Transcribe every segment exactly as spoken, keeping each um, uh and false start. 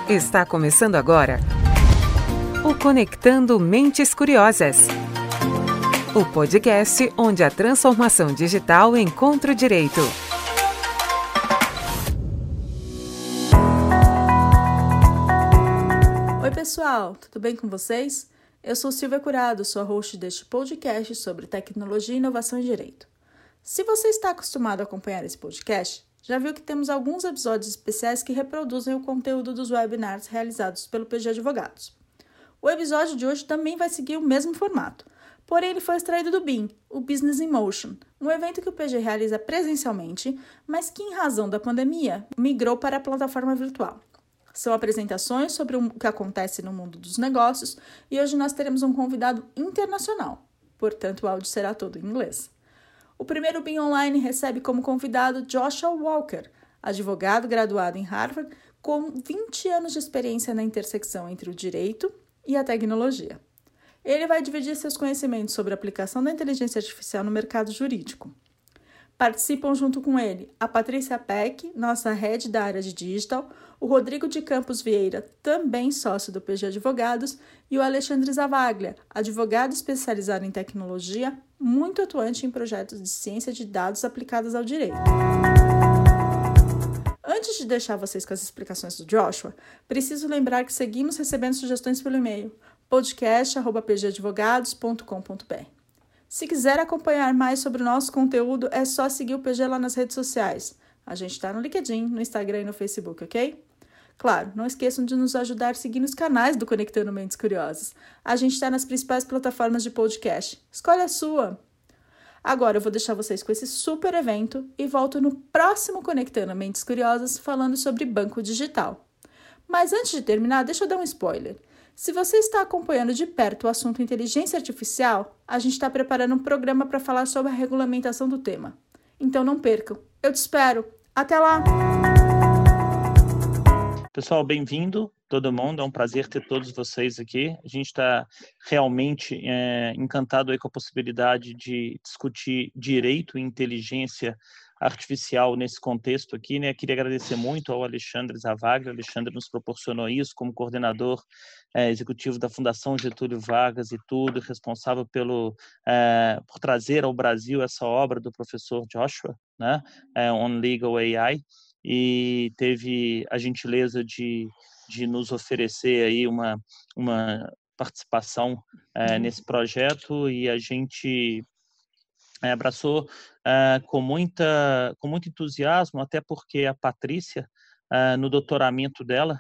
Está começando agora o Conectando Mentes Curiosas. O podcast onde a transformação digital encontra o direito. Oi pessoal, tudo bem com vocês? Eu sou Silvia Curado, sou a host deste podcast sobre tecnologia, inovação e direito. Se você está acostumado a acompanhar esse podcast, já viu que temos alguns episódios especiais que reproduzem o conteúdo dos webinars realizados pelo P G Advogados. O episódio de hoje também vai seguir o mesmo formato, porém ele foi extraído do B I M, o Business in Motion, um evento que o P G realiza presencialmente, mas que em razão da pandemia migrou para a plataforma virtual. São apresentações sobre o que acontece no mundo dos negócios e hoje nós teremos um convidado internacional, portanto o áudio será todo em inglês. O primeiro B I M Online recebe como convidado Joshua Walker, advogado graduado em Harvard, com vinte anos de experiência na intersecção entre o direito e a tecnologia. Ele vai dividir seus conhecimentos sobre a aplicação da inteligência artificial no mercado jurídico. Participam junto com ele a Patrícia Peck, nossa head da área de digital, o Rodrigo de Campos Vieira, também sócio do P G Advogados, e o Alexandre Zavaglia, advogado especializado em tecnologia, muito atuante em projetos de ciência de dados aplicados ao direito. Antes de deixar vocês com as explicações do Joshua, preciso lembrar que seguimos recebendo sugestões pelo e-mail podcast arroba p g advogados ponto com ponto b r. Se quiser acompanhar mais sobre o nosso conteúdo, é só seguir o P G lá nas redes sociais. A gente está no LinkedIn, no Instagram e no Facebook, ok? Claro, não esqueçam de nos ajudar seguindo os canais do Conectando Mentes Curiosas. A gente está nas principais plataformas de podcast. Escolhe a sua! Agora eu vou deixar vocês com esse super evento e volto no próximo Conectando Mentes Curiosas falando sobre banco digital. Mas antes de terminar, deixa eu dar um spoiler. Se você está acompanhando de perto o assunto inteligência artificial, a gente está preparando um programa para falar sobre a regulamentação do tema. Então não percam. Eu te espero. Até lá! Pessoal, bem-vindo todo mundo. É um prazer ter todos vocês aqui. A gente está realmente é, encantado aí com a possibilidade de discutir direito e inteligência artificial nesse contexto aqui, né? Queria agradecer muito ao Alexandre Zavaglia. O Alexandre nos proporcionou isso como coordenador é, executivo da Fundação Getúlio Vargas e tudo, responsável pelo, é, por trazer ao Brasil essa obra do professor Joshua, né? É, On Legal A I, e teve a gentileza de, de nos oferecer aí uma, uma participação é, nesse projeto, e a gente É, abraçou uh, com, muita, com muito entusiasmo, até porque a Patrícia, uh, no doutoramento dela,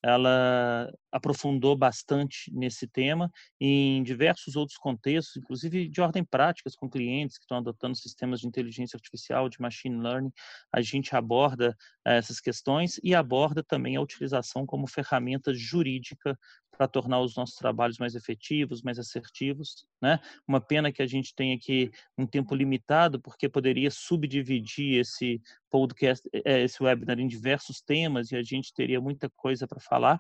ela aprofundou bastante nesse tema e em diversos outros contextos, inclusive de ordem práticas com clientes que estão adotando sistemas de inteligência artificial, de machine learning. A gente aborda uh, essas questões e aborda também a utilização como ferramenta jurídica para tornar os nossos trabalhos mais efetivos, mais assertivos, né? Uma pena que a gente tenha aqui um tempo limitado, porque poderia subdividir esse podcast, esse webinar em diversos temas e a gente teria muita coisa para falar,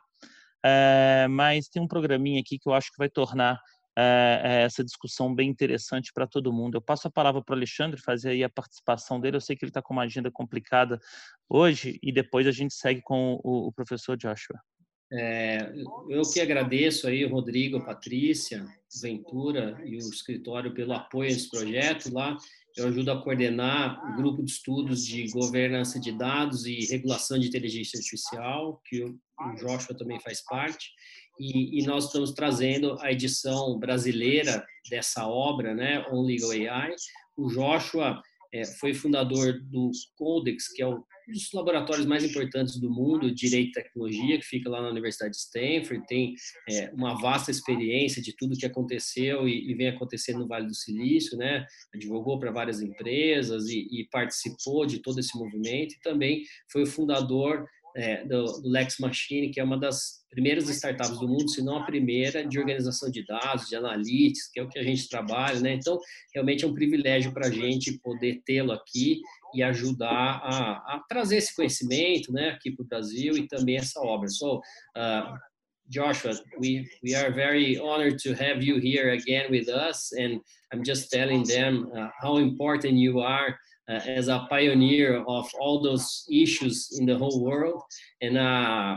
é, mas tem um programinha aqui que eu acho que vai tornar é, essa discussão bem interessante para todo mundo. Eu passo a palavra para o Alexandre fazer aí a participação dele. Eu sei que ele está com uma agenda complicada hoje e depois a gente segue com o, o professor Joshua. É, eu que agradeço aí o Rodrigo, a Patrícia, Ventura e o escritório pelo apoio a esse projeto. Lá eu ajudo a coordenar o grupo de estudos de governança de dados e regulação de inteligência artificial, que o, o Joshua também faz parte, e, e nós estamos trazendo a edição brasileira dessa obra, né, On Legal A I. O Joshua é, foi fundador do Codex, que é o um dos laboratórios mais importantes do mundo, Direito e Tecnologia, que fica lá na Universidade de Stanford, tem é, uma vasta experiência de tudo que aconteceu e, e vem acontecendo no Vale do Silício, né? Advogou para várias empresas e, e participou de todo esse movimento, e também foi o fundador é, do, do Lex Machine, que é uma das primeiras startups do mundo, se não a primeira, de organização de dados, de analytics, que é o que a gente trabalha, né? Então, realmente é um privilégio para a gente poder tê-lo aqui e ajudar a, a trazer esse conhecimento, né, aqui para o Brasil e também essa obra. So, uh, Joshua, we, we are very honored to have you here again with us, and I'm just telling them uh, how important you are uh, as a pioneer of all those issues in the whole world, and uh,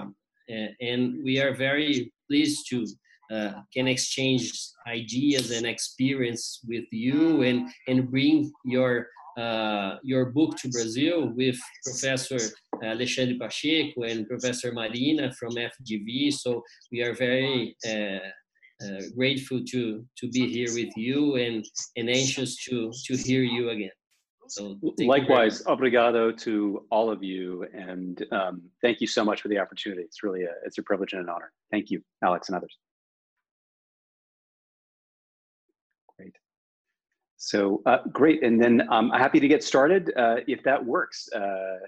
uh, and we are very pleased to uh, can exchange ideas and experience with you, and and bring your uh, your book to Brazil with Professor Alexandre Pacheco and Professor Marina from F G V. So we are very uh, uh, grateful to to be here with you, and and anxious to to hear you again. So likewise, obrigado to all of you, and um, thank you so much for the opportunity. It's really a, it's a privilege and an honor. Thank you, Alex and others. Great. So uh, great, and then um, I'm happy to get started uh, if that works. Uh,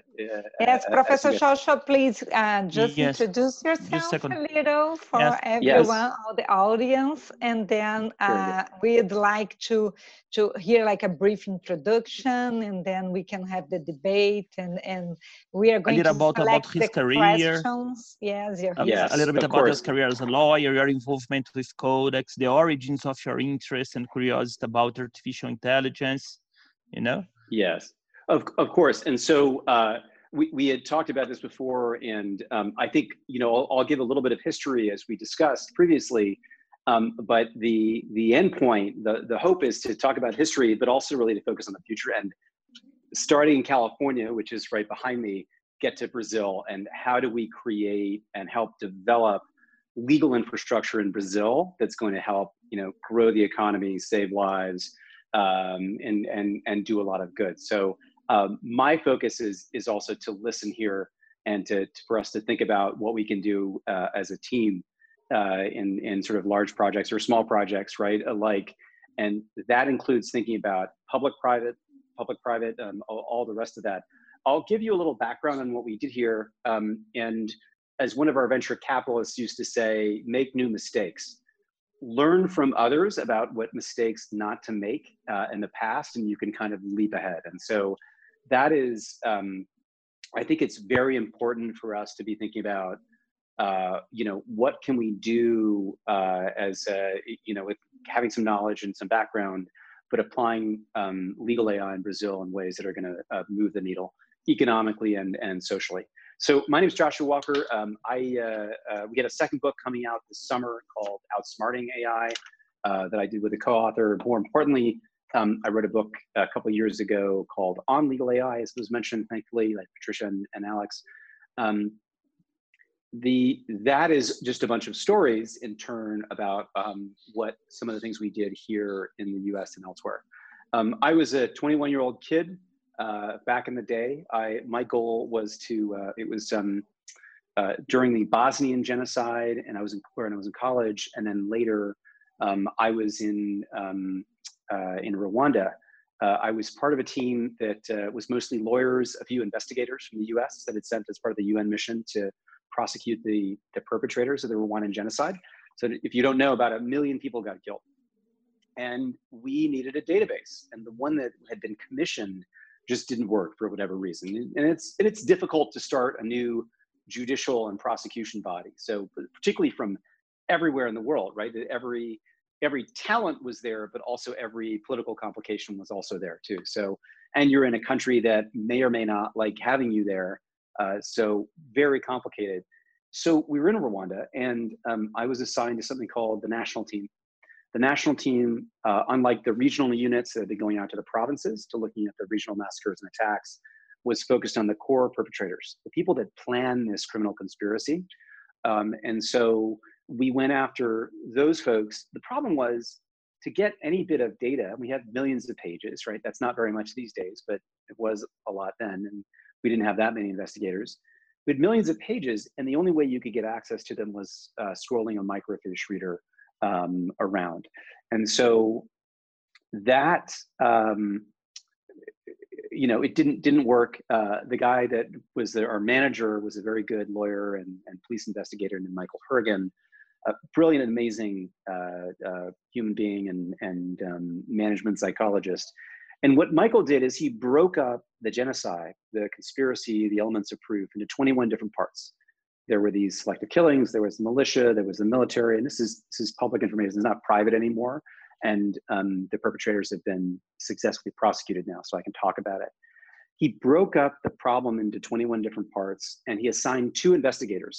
yes, uh, Professor Shosho, please uh, just yes. introduce yourself a little for yes. everyone, yes. all the audience, and then uh, we'd like to to hear like a brief introduction, and then we can have the debate, and and we are going a little to about, about his the career. questions. Yes, your a, yes, a little bit of about course. his career as a lawyer, your involvement with Codex, the origins of your interest and curiosity about artificial intelligence, you know? Yes, of, of course. And so uh, we, we had talked about this before, and um, I think, you know, I'll, I'll give a little bit of history as we discussed previously, um, but the, the end point, the, the hope is to talk about history, but also really to focus on the future. And starting in California, which is right behind me, get to Brazil, and how do we create and help develop legal infrastructure in Brazil that's going to help, you know, grow the economy, save lives, um, and, and, and do a lot of good. So um, my focus is, is also to listen here and to, to for us to think about what we can do uh, as a team uh, in, in sort of large projects or small projects, right, alike. And that includes thinking about public-private, public-private, um, all, all the rest of that. I'll give you a little background on what we did here. Um, and as one of our venture capitalists used to say, make new mistakes. Learn from others about what mistakes not to make uh, in the past, and you can kind of leap ahead. And so that is, um, I think it's very important for us to be thinking about, uh, you know, what can we do uh, as, uh, you know, with having some knowledge and some background, but applying um, legal A I in Brazil in ways that are going to uh, move the needle economically and, and socially. So my name is Joshua Walker. Um, I, uh, uh, we had a second book coming out this summer called Outsmarting A I uh, that I did with a co-author. More importantly, um, I wrote a book a couple of years ago called On Legal A I, as was mentioned, thankfully, like Patricia and, and Alex. Um, the, that is just a bunch of stories in turn about um, what some of the things we did here in the U S and elsewhere. Um, I was a twenty-one-year-old kid. Uh, back in the day, I, my goal was to, uh, it was um, uh, during the Bosnian genocide, and I was in, when I was in college, and then later um, I was in, um, uh, in Rwanda. Uh, I was part of a team that uh, was mostly lawyers, a few investigators from the U S that had sent as part of the U N mission to prosecute the, the perpetrators of the Rwandan genocide. So if you don't know, about a million people got killed. And we needed a database, and the one that had been commissioned just didn't work for whatever reason. And it's, and it's difficult to start a new judicial and prosecution body. So particularly from everywhere in the world, right? Every, every talent was there, but also every political complication was also there too. So, and you're in a country that may or may not like having you there. Uh, so very complicated. So we were in Rwanda, and um, I was assigned to something called the national team. The national team, uh, unlike the regional units that had been going out to the provinces to looking at the regional massacres and attacks, was focused on the core perpetrators, the people that plan this criminal conspiracy. Um, and so we went after those folks. The problem was to get any bit of data. We had millions of pages, right? That's not very much these days, but it was a lot then. And we didn't have that many investigators. We had millions of pages, and the only way you could get access to them was uh, scrolling a microfiche reader Um, around. And so that, um, you know, it didn't didn't work. Uh, the guy that was the, our manager was a very good lawyer and, and police investigator named Michael Hurgan, a brilliant, amazing uh, uh, human being and, and um, management psychologist. And what Michael did is he broke up the genocide, the conspiracy, the elements of proof into twenty-one different parts. There were these selective killings, there was the militia, there was the military, and this is, this is public information, it's not private anymore. And um, the perpetrators have been successfully prosecuted now, so I can talk about it. He broke up the problem into twenty-one different parts, and he assigned two investigators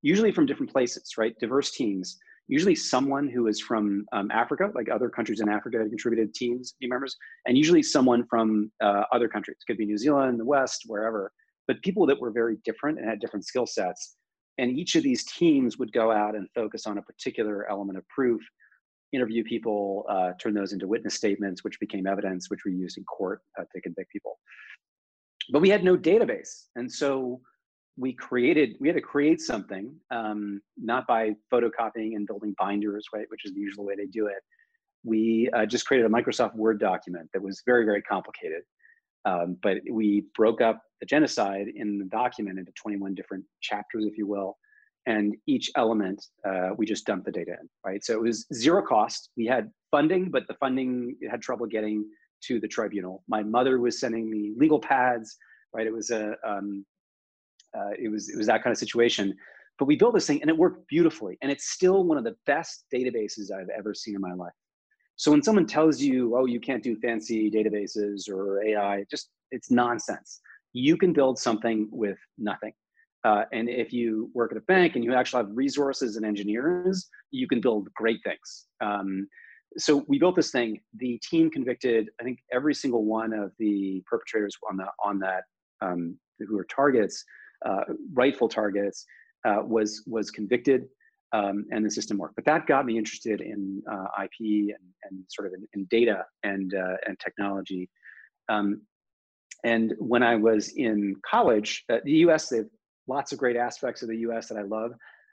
usually from different places, right? Diverse teams, usually someone who is from um, Africa, like other countries in Africa had contributed teams, team members, and usually someone from uh, other countries. It could be New Zealand, the West, wherever, but people that were very different and had different skill sets. And each of these teams would go out and focus on a particular element of proof, interview people, uh, turn those into witness statements, which became evidence, which we used in court uh, to convict people. But we had no database. And so we created, we had to create something, um, not by photocopying and building binders, right, which is the usual way they do it. We uh, just created a Microsoft Word document that was very, very complicated. Um, but we broke up the genocide in the document into twenty-one different chapters, if you will. And each element, uh, we just dumped the data in, right? So it was zero cost. We had funding, but the funding had trouble getting to the tribunal. My mother was sending me legal pads, right? It was a, um, uh, it was it was that kind of situation. But we built this thing, and it worked beautifully. And it's still one of the best databases I've ever seen in my life. So when someone tells you, oh, you can't do fancy databases or A I, just it's nonsense. You can build something with nothing. Uh, and if you work at a bank and you actually have resources and engineers, you can build great things. Um, so we built this thing. The team convicted, I think, every single one of the perpetrators on the on that um, who were targets, uh, rightful targets, uh, was was convicted, um, and the system worked. But that got me interested in uh, I P and, and sort of in, in data and uh, and technology. Um, and when I was in college, uh, the U S, they have lots of great aspects of the U S that I love.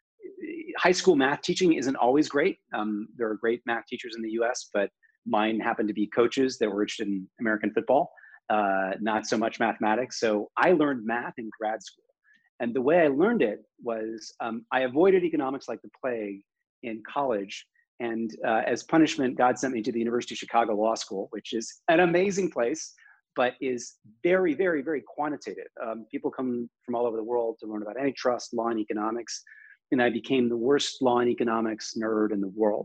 High school math teaching isn't always great. Um, there are great math teachers in the U S, but mine happened to be coaches that were interested in American football, uh, not so much mathematics. So I learned math in grad school. And the way I learned it was um, I avoided economics like the plague in college. And uh, as punishment, God sent me to the University of Chicago Law School, which is an amazing place, but is very, very, very quantitative. Um, people come from all over the world to learn about antitrust, law, and economics. And I became the worst law and economics nerd in the world.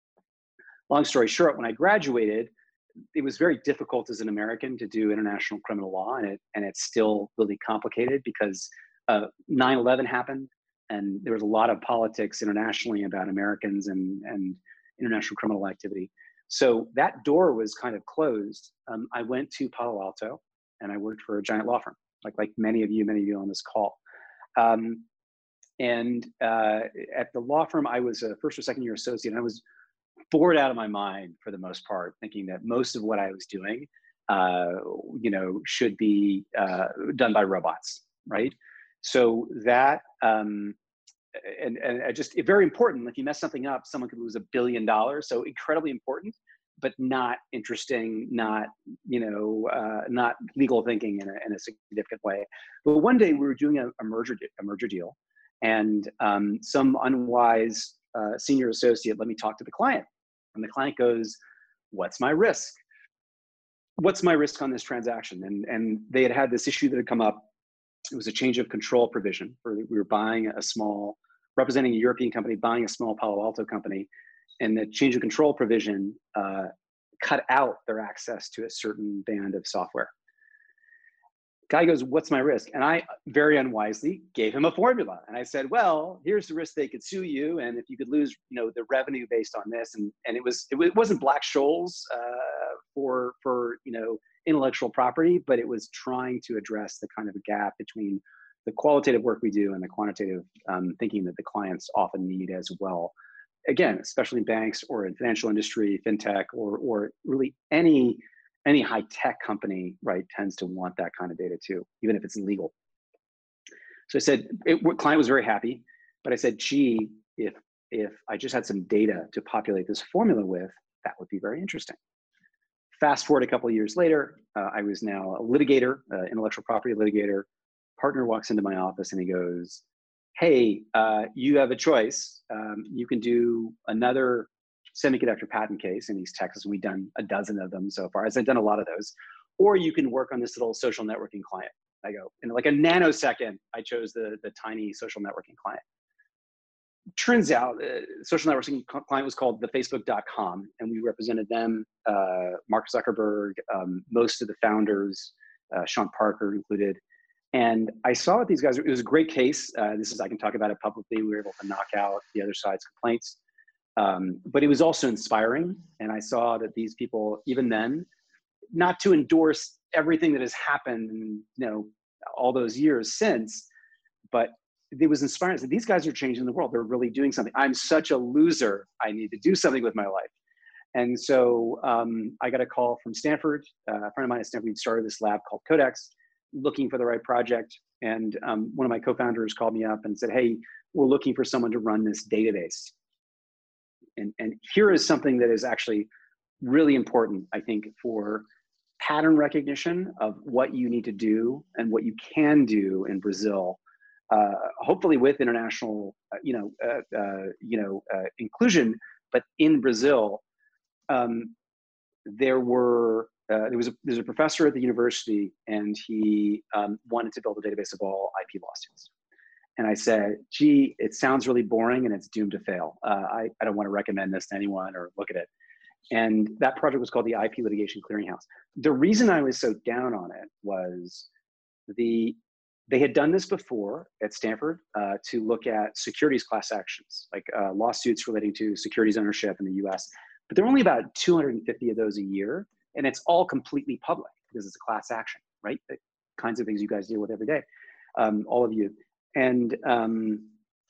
Long story short, when I graduated, it was very difficult as an American to do international criminal law, and, it, and it's still really complicated because uh, nine eleven happened, and there was a lot of politics internationally about Americans and, and international criminal activity. So that door was kind of closed. Um, I went to Palo Alto, and I worked for a giant law firm, like, like many of you, many of you on this call. Um, and uh, at the law firm, I was a first or second year associate, and I was bored out of my mind for the most part, thinking that most of what I was doing, uh, you know, should be uh, done by robots, right? So that, um, and, and just very important, if you mess something up, someone could lose a billion dollars. So incredibly important, but not interesting, not, you know, uh, not legal thinking in a, in a significant way. But one day we were doing a, a merger, a merger deal, and um, some unwise uh, senior associate let me talk to the client. And the client goes, what's my risk? What's my risk on this transaction? And, and they had had this issue that had come up. It was a change of control provision. For, we were buying a small, representing a European company, buying a small Palo Alto company. And the change of control provision uh, cut out their access to a certain band of software. Guy goes, what's my risk? And I very unwisely gave him a formula. And I said, well, here's the risk they could sue you. And if you could lose, you know, the revenue based on this. And, and it, was, it wasn't Black-Scholes uh, for, for, you know, intellectual property, but it was trying to address the kind of gap between the qualitative work we do and the quantitative um, thinking that the clients often need as well. Again, especially in banks or in financial industry, fintech, or, or really any Any high-tech company, right, tends to want that kind of data too, even if it's illegal. So I said, it, client was very happy, but I said, gee, if, if I just had some data to populate this formula with, that would be very interesting. Fast forward a couple of years later, uh, I was now a litigator, uh, intellectual property litigator. Partner walks into my office and he goes, hey, uh, you have a choice. Um, you can do another semiconductor patent case in East Texas, and we've done a dozen of them so far, as I've done a lot of those, or you can work on this little social networking client. I go, in like a nanosecond, I chose the, the tiny social networking client. Turns out, uh, social networking client was called the Facebook dot com, and we represented them, uh, Mark Zuckerberg, um, most of the founders, uh, Sean Parker included. And I saw what these guys, it was a great case. Uh, this is, I can talk about it publicly. We were able to knock out the other side's complaints. Um, but it was also inspiring. And I saw that these people, even then, not to endorse everything that has happened in, you know, all those years since, but it was inspiring. So these guys are changing the world. They're really doing something. I'm such a loser. I need to do something with my life. And so um, I got a call from Stanford. Uh, a friend of mine at Stanford started this lab called Codex, looking for the right project. And um, one of my co-founders called me up and said, hey, we're looking for someone to run this database. And, and here is something that is actually really important, I think, for pattern recognition of what you need to do and what you can do in Brazil, uh, hopefully with international, uh, you know, uh, uh, you know, uh, inclusion. But in Brazil, um, there were uh, there was a there's a professor at the university, and he um, wanted to build a database of all I P lawsuits. And I said, gee, it sounds really boring and it's doomed to fail. Uh, I, I don't want to recommend this to anyone or look at it. And that project was called the I P Litigation Clearinghouse. The reason I was so down on it was the they had done this before at Stanford uh, to look at securities class actions, like uh, lawsuits relating to securities ownership in the U S. But there are only about two hundred fifty of those a year, and it's all completely public because it's a class action, right? The kinds of things you guys deal with every day, um, all of you. And um,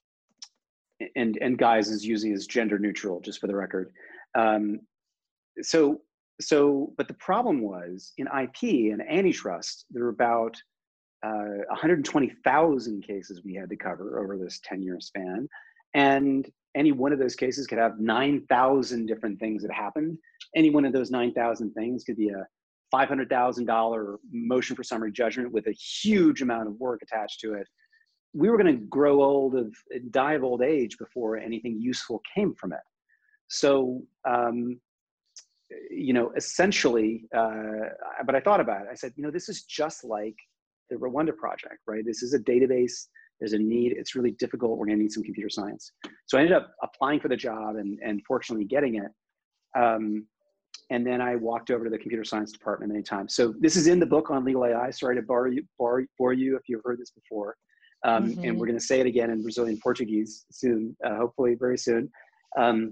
and and guys is using as gender neutral, just for the record. Um, so so, but the problem was in I P and antitrust, there were about uh, one hundred twenty thousand cases we had to cover over this ten year span, and any one of those cases could have nine thousand different things that happened. Any one of those nine thousand things could be a five hundred thousand dollar motion for summary judgment with a huge amount of work attached to it. We were going to grow old of die of old age before anything useful came from it. So, um, you know, essentially, uh, but I thought about it. I said, you know, this is just like the Rwanda project, right? This is a database. There's a need. It's really difficult. We're going to need some computer science. So I ended up applying for the job and, and fortunately getting it. Um, and then I walked over to the computer science department many times. So this is in the book on legal A I. Sorry to bore you, bore, bore you if you've heard this before. Um, mm-hmm. And we're going to say it again in Brazilian Portuguese soon, uh, hopefully very soon. Um,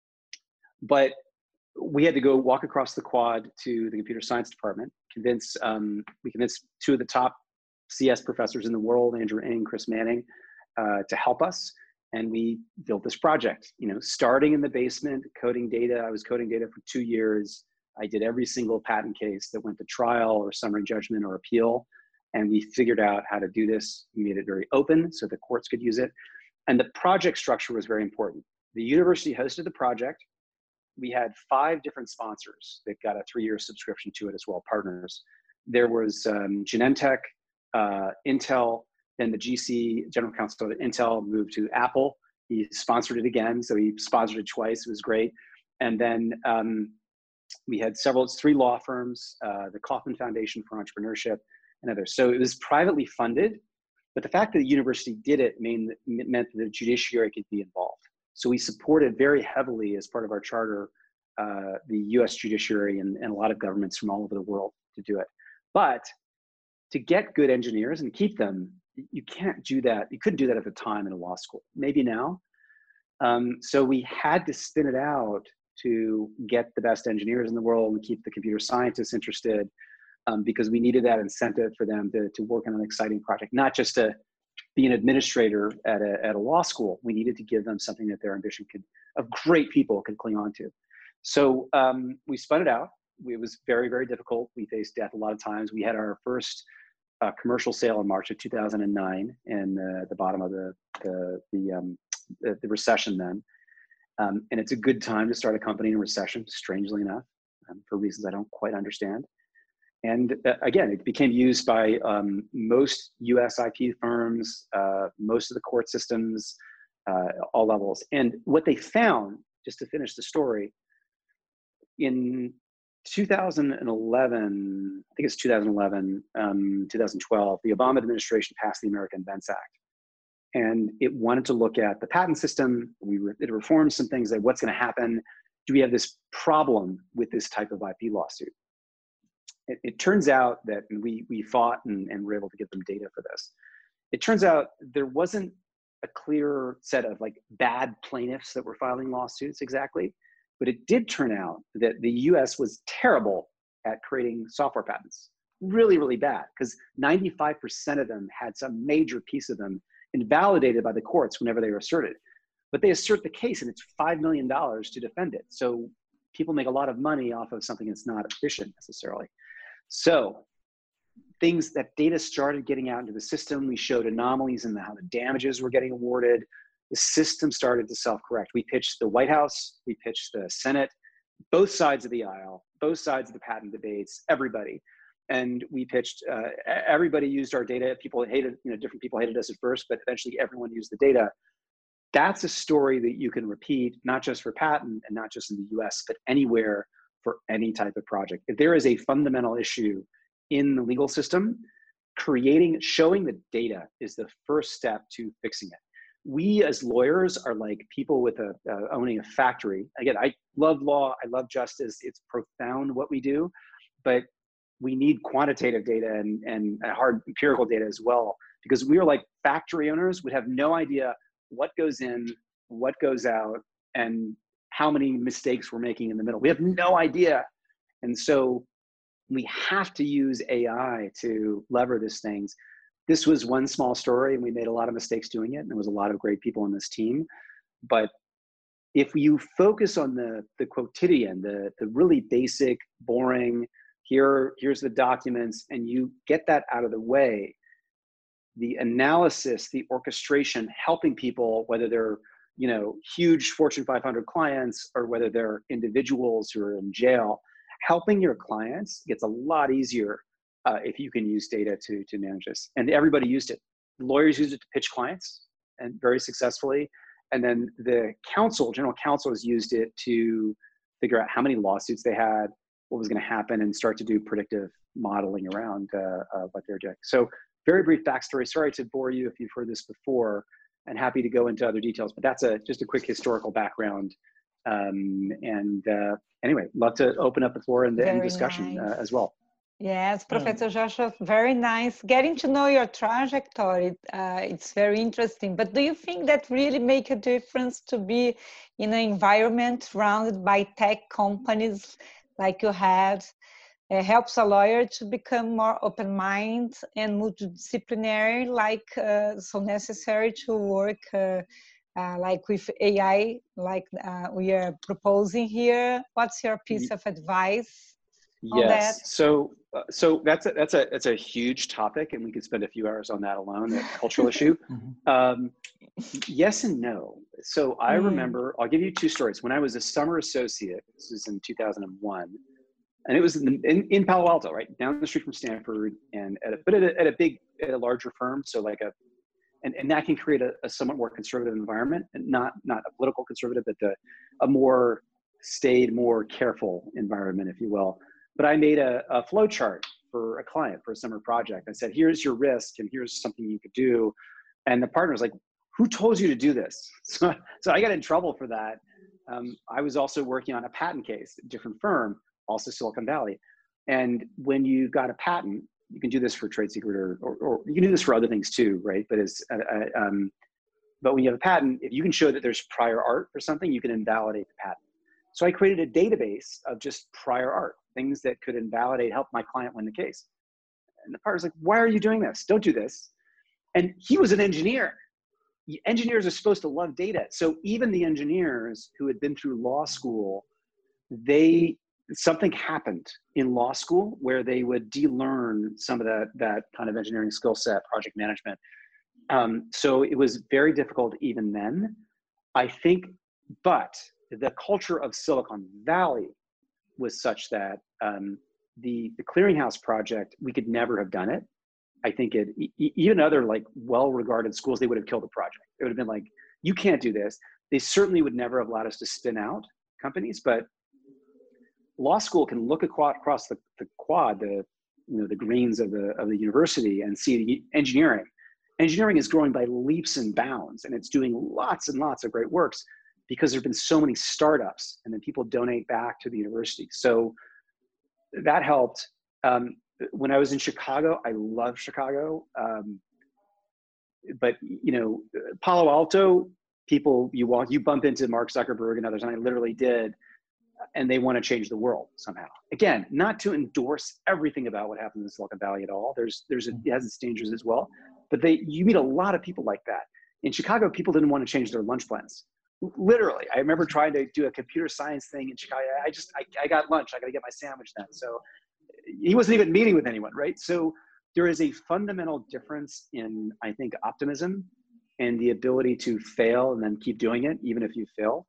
but we had to go walk across the quad to the computer science department, convince, um, we convinced two of the top C S professors in the world, Andrew Ng, Chris Manning, uh, to help us. And we built this project, you know, starting in the basement, coding data. I was coding data for two years. I did every single patent case that went to trial or summary judgment or appeal. And we figured out how to do this. We made it very open so the courts could use it. And the project structure was very important. The university hosted the project. We had five different sponsors that got a three-year subscription to it as well, partners. There was um, Genentech, uh, Intel, then the G C, general counsel at Intel, moved to Apple. He sponsored it again, so he sponsored it twice. It was great. And then um, we had several, three law firms, uh, the Kauffman Foundation for Entrepreneurship, and others. So it was privately funded, but the fact that the university did it mean, meant that the judiciary could be involved. So we supported very heavily as part of our charter, uh, the U S judiciary and, and a lot of governments from all over the world to do it. But to get good engineers and keep them, you can't do that. You couldn't do that at the time in a law school, maybe now. Um, so we had to spin it out to get the best engineers in the world and keep the computer scientists interested. Um, because we needed that incentive for them to, to work on an exciting project, not just to be an administrator at a, at a law school. We needed to give them something that their ambition could, of great people could cling on to. So um, we spun it out. It was very, very difficult. We faced death a lot of times. We had our first uh, commercial sale in March of two thousand nine in uh, the bottom of the, the, the, um, the, the recession then. Um, and it's a good time to start a company in a recession, strangely enough, um, for reasons I don't quite understand. And uh, again, it became used by um, most U S I P firms, uh, most of the court systems, uh, all levels. And what they found, just to finish the story, in two thousand eleven, I think it's two thousand eleven, um, two thousand twelve, the Obama administration passed the American Invents Act. And it wanted to look at the patent system. We re it reformed some things like what's going to happen. Do we have this problem with this type of I P lawsuit? it, it turns out that, and we, we fought and, and were able to get them data for this. It turns out there wasn't a clear set of like bad plaintiffs that were filing lawsuits exactly, but it did turn out that the U S was terrible at creating software patents. Really, really bad, because ninety-five percent of them had some major piece of them invalidated by the courts whenever they were asserted. But they assert the case and it's five million dollars to defend it. So people make a lot of money off of something that's not efficient necessarily. So things, that data started getting out into the system. We showed anomalies in the, how the damages were getting awarded. The system started to self-correct. We pitched the White House, we pitched the Senate, both sides of the aisle, both sides of the patent debates, everybody. And we pitched, uh, everybody used our data. People hated, you know, different people hated us at first, but eventually everyone used the data. That's a story that you can repeat, not just for patent and not just in the U S, but anywhere for any type of project. If there is a fundamental issue in the legal system, creating, showing the data is the first step to fixing it. We as lawyers are like people with a, uh, owning a factory. Again, I love law, I love justice, it's profound what we do, but we need quantitative data and, and hard empirical data as well, because we are like factory owners would have no idea what goes in, what goes out, and how many mistakes we're making in the middle. We have no idea. And so we have to use A I to lever these things. This was one small story and we made a lot of mistakes doing it. And there was a lot of great people on this team. But if you focus on the, the quotidian, the, the really basic, boring, here, here's the documents, and you get that out of the way, the analysis, the orchestration, helping people, whether they're, you know, huge Fortune five hundred clients or whether they're individuals who are in jail, helping your clients gets a lot easier uh, if you can use data to, to manage this. And everybody used it. Lawyers used it to pitch clients, and very successfully. And then the counsel, general counsels used it to figure out how many lawsuits they had, what was going to happen, and start to do predictive modeling around uh, uh, what they're doing. So very brief backstory. Sorry to bore you if you've heard this before, and happy to go into other details, but that's a just a quick historical background. Um, and uh, anyway, love to open up the floor and the end discussion nice. uh, as well. Yes, Professor Joshua, very nice. Getting to know your trajectory, uh, it's very interesting. But do you think that really make a difference to be in an environment surrounded by tech companies like you had? It helps a lawyer to become more open-minded and multidisciplinary, like uh, so necessary to work uh, uh, like with A I, like uh, we are proposing here. What's your piece of advice on yes. that? So, uh, so that's a, that's a that's a huge topic, and we could spend a few hours on that alone. That cultural issue. Um, yes and no. So I mm. remember. I'll give you two stories. When I was a summer associate, this was in two thousand one. And it was in, in, in Palo Alto, right down the street from Stanford, and at a, but at a, at a big, at a larger firm. So like a, and, and that can create a, a somewhat more conservative environment, and not not a political conservative, but the, a more staid, more careful environment, if you will. But I made a, a flow chart for a client for a summer project. I said, here's your risk, and here's something you could do. And the partner was like, who told you to do this? So, so I got in trouble for that. Um, I was also working on a patent case, a different firm, also Silicon Valley. And when you got a patent, you can do this for trade secret, or, or, or you can do this for other things too, right? But it's, uh, uh, um, but when you have a patent, if you can show that there's prior art for something, you can invalidate the patent. So I created a database of just prior art, things that could invalidate, help my client win the case. And the partner's like, why are you doing this? Don't do this. And he was an engineer. Engineers are supposed to love data. So even the engineers who had been through law school, they, something happened in law school where they would de-learn some of that, that kind of engineering skill set, project management. Um, so it was very difficult even then, I think, but the culture of Silicon Valley was such that um, the, the Clearinghouse project, we could never have done it. I think it, e even other like well-regarded schools, they would have killed the project. It would have been like, you can't do this. They certainly would never have allowed us to spin out companies, but law school can look across the, the quad, the, you know, the greens of the, of the university, and see the engineering. Engineering is growing by leaps and bounds, and it's doing lots and lots of great works because there've been so many startups, and then people donate back to the university. So that helped. Um, when I was in Chicago, I love Chicago. Um, but, you know, Palo Alto, people, you walk, you bump into Mark Zuckerberg and others, and I literally did, and they want to change the world somehow. Again, not to endorse everything about what happens in Silicon Valley at all. There's, there's, a, it has its dangers as well. But they, you meet a lot of people like that. In Chicago, people didn't want to change their lunch plans. Literally, I remember trying to do a computer science thing in Chicago. I just, I, I got lunch. I got to get my sandwich then. So he wasn't even meeting with anyone, right? So there is a fundamental difference in, I think, optimism and the ability to fail and then keep doing it, even if you fail.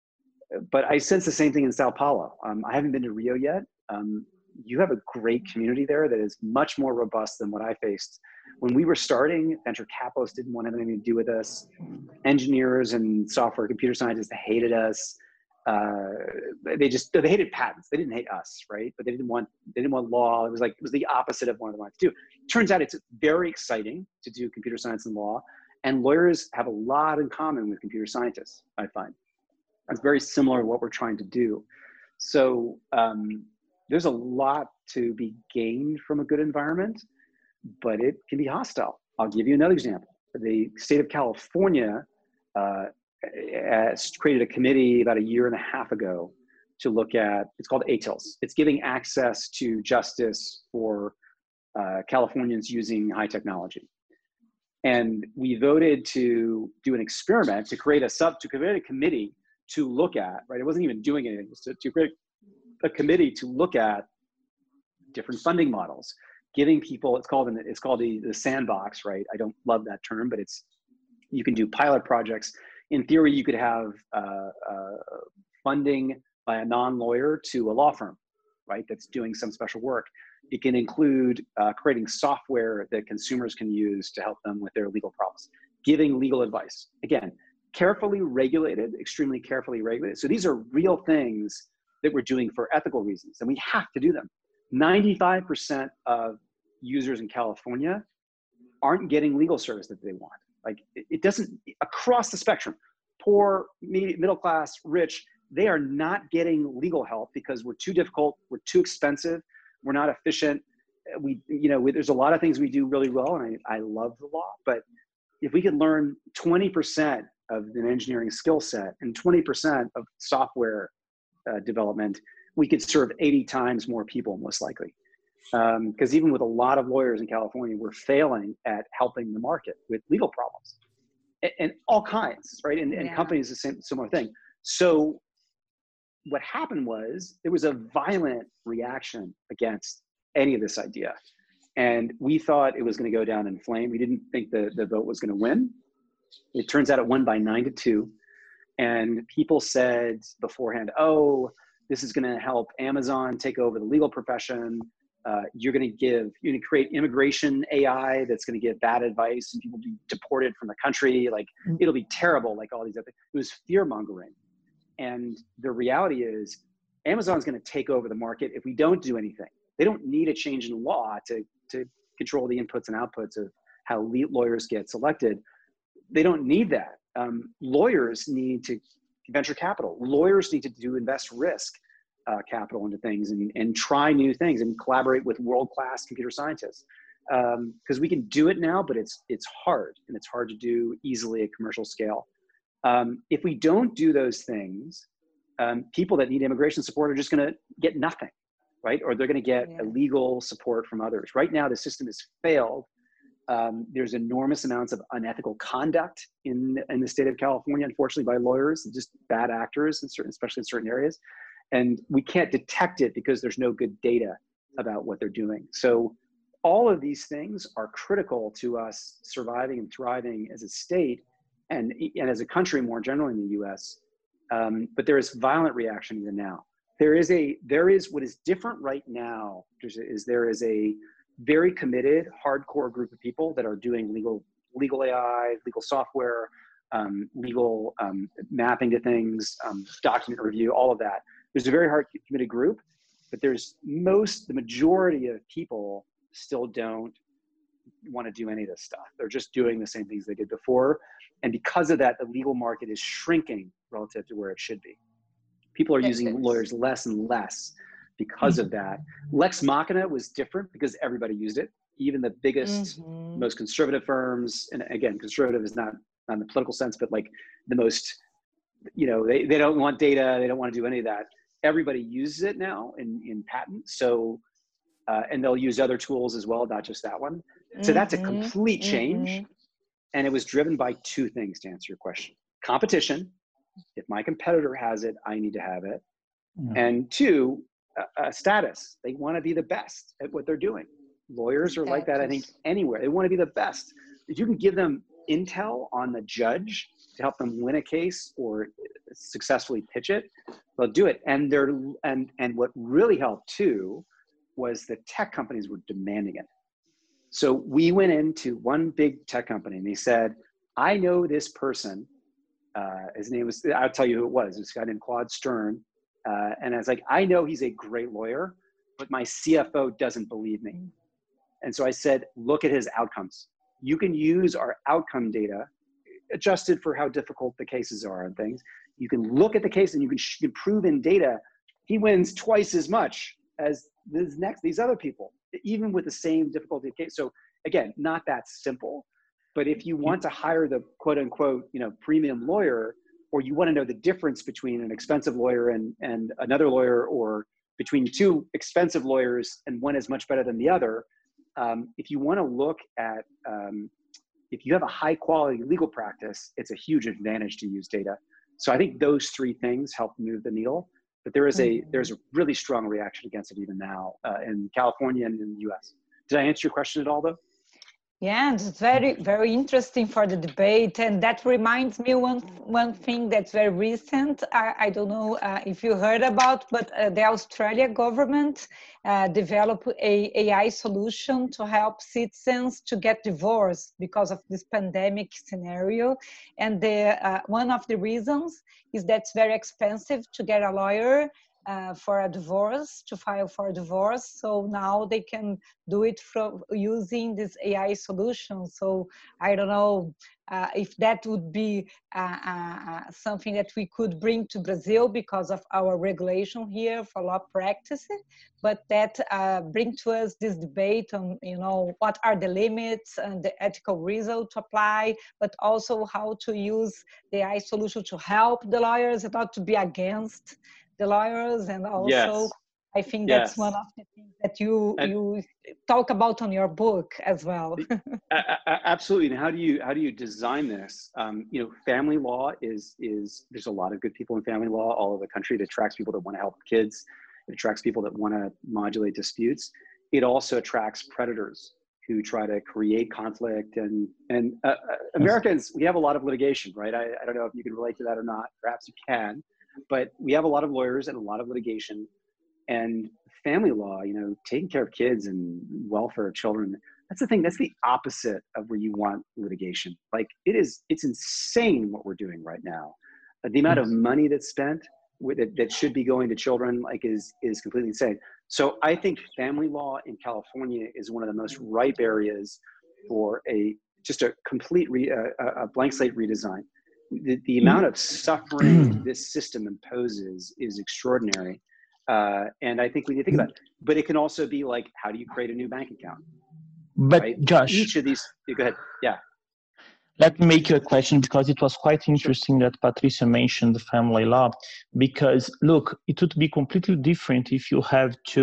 But I sense the same thing in Sao Paulo. Um, I haven't been to Rio yet. Um, you have a great community there that is much more robust than what I faced. When we were starting, venture capitalists didn't want anything to do with us. Engineers and software computer scientists hated us. Uh, they just, they hated patents. They didn't hate us, right? But they didn't want, they didn't want law. It was like, it was the opposite of what they wanted to do. Turns out it's very exciting to do computer science and law. And lawyers have a lot in common with computer scientists, I find. It's very similar to what we're trying to do. So um, there's a lot to be gained from a good environment, but it can be hostile. I'll give you another example. The state of California uh, has created a committee about a year and a half ago to look at, it's called A T I L S. It's giving access to justice for uh, Californians using high technology. And we voted to do an experiment to create a sub, to create a committee to look at, right? It wasn't even doing anything, it was to, to create a committee to look at different funding models, giving people, it's called, it's called the, the sandbox, right? I don't love that term, but it's, you can do pilot projects. In theory, you could have uh, uh, funding by a non-lawyer to a law firm, right? That's doing some special work. It can include uh, creating software that consumers can use to help them with their legal problems, giving legal advice. Again, carefully regulated, extremely carefully regulated. So these are real things that we're doing for ethical reasons, and we have to do them. ninety-five percent of users in California aren't getting legal service that they want. Like it doesn't, across the spectrum, poor, middle class, rich, they are not getting legal help because we're too difficult, we're too expensive, we're not efficient. We, you know, we, there's a lot of things we do really well, and I, I love the law, but if we could learn twenty percent of an engineering skill set and twenty percent of software uh, development, we could serve eighty times more people, most likely. Because um, even with a lot of lawyers in California, we're failing at helping the market with legal problems and, and all kinds, right? And, and yeah. companies, the same, similar thing. So what happened was there was a violent reaction against any of this idea. And we thought it was going to go down in flame. We didn't think the, the vote was going to win. It turns out it won by nine to two. And people said beforehand, oh, this is going to help Amazon take over the legal profession. Uh, you're going to give, you're going to create immigration A I that's going to give bad advice and people be deported from the country. Like it'll be terrible, like all these other things. It was fear mongering. And the reality is Amazon's going to take over the market if we don't do anything. They don't need a change in law to, to control the inputs and outputs of how lawyers get selected. They don't need that. Um, lawyers need to venture capital. Lawyers need to do invest risk uh, capital into things and, and try new things and collaborate with world-class computer scientists. Because um, we can do it now, but it's, it's hard, and it's hard to do easily at commercial scale. Um, if we don't do those things, um, people that need immigration support are just going to get nothing, right? Or they're going to get yeah. illegal support from others. Right now, the system has failed. Um, there's enormous amounts of unethical conduct in, in the state of California, unfortunately, by lawyers, just bad actors, in certain, especially in certain areas. And we can't detect it because there's no good data about what they're doing. So all of these things are critical to us surviving and thriving as a state and, and as a country more generally in the U S. Um, but there is violent reaction even now. There is a, there is what is different right now is, is there is a very committed, hardcore group of people that are doing legal, legal A I, legal software, um, legal um, mapping to things, um, document review, all of that. There's a very hard committed group, but there's most, the majority of people still don't want to do any of this stuff. They're just doing the same things they did before. And because of that, the legal market is shrinking relative to where it should be. People are using lawyers less and less because of that. Lex Machina was different because everybody used it. Even the biggest, Mm-hmm. most conservative firms, and again, conservative is not, not in the political sense, but like the most, you know, they, they don't want data, they don't want to do any of that. Everybody uses it now in, in patent. So, uh, and they'll use other tools as well, not just that one. So that's a complete change. Mm-hmm. And it was driven by two things, to answer your question. Competition. If my competitor has it, I need to have it. Yeah. And two, uh, uh, status. They want to be the best at what they're doing. Lawyers are like that, I think, anywhere. They want to be the best. If you can give them intel on the judge to help them win a case or successfully pitch it, they'll do it. And they're and and what really helped too was the tech companies were demanding it. So we went into one big tech company and they said, I know this person. Uh, his name was, I'll tell you who it was. This guy named Claude Stern. Uh, and I was like, I know he's a great lawyer, but my C F O doesn't believe me. And so I said, look at his outcomes. You can use our outcome data adjusted for how difficult the cases are and things. You can look at the case and you can, you can prove in data, he wins twice as much as this next, these other people, even with the same difficulty of case. So again, not that simple, but if you want to hire the quote unquote, you know, premium lawyer, or you want to know the difference between an expensive lawyer and, and another lawyer, or between two expensive lawyers and one is much better than the other. Um, if you want to look at, um, if you have a high quality legal practice, it's a huge advantage to use data. So I think those three things help move the needle, but there is a, there's a really strong reaction against it even now uh, in California and in the U S. Did I answer your question at all though? Yeah, and it's very, very interesting for the debate. And that reminds me one one thing that's very recent. I, I don't know uh, if you heard about, but uh, the Australia government uh, developed a AI solution to help citizens to get divorced because of this pandemic scenario. And the uh, one of the reasons is that it's very expensive to get a lawyer Uh, for a divorce, to file for a divorce. So now they can do it from using this A I solution. So I don't know uh, if that would be uh, uh, something that we could bring to Brazil because of our regulation here for law practice, but that uh, bring to us this debate on, you know, what are the limits and the ethical result to apply, but also how to use the A I solution to help the lawyers and not to be against the lawyers. And also Yes. I think Yes. that's one of the things that you And, you talk about on your book as well. Absolutely. And how do you how do you design this? Um, you know, family law is is there's a lot of good people in family law all over the country. It attracts people that want to help kids. It attracts people that want to modulate disputes. It also attracts predators who try to create conflict. And and uh, Americans, we have a lot of litigation, right? I, I don't know if you can relate to that or not. Perhaps you can. But we have a lot of lawyers and a lot of litigation, and family law, you know, taking care of kids and welfare of children. That's the thing. That's the opposite of where you want litigation. Like it is, it's insane what we're doing right now. The amount of money that's spent with it, that should be going to children, like is, is completely insane. So I think family law in California is one of the most ripe areas for a, just a complete re, uh, a blank slate redesign. The, the amount of suffering this system imposes is extraordinary. Uh, and I think we need to think about it. But it can also be like, how do you create a new bank account? But right? Josh, Each of these, go ahead. Yeah. Let me make you a question, because it was quite interesting that Patricia mentioned the family law, because look, it would be completely different if you have to,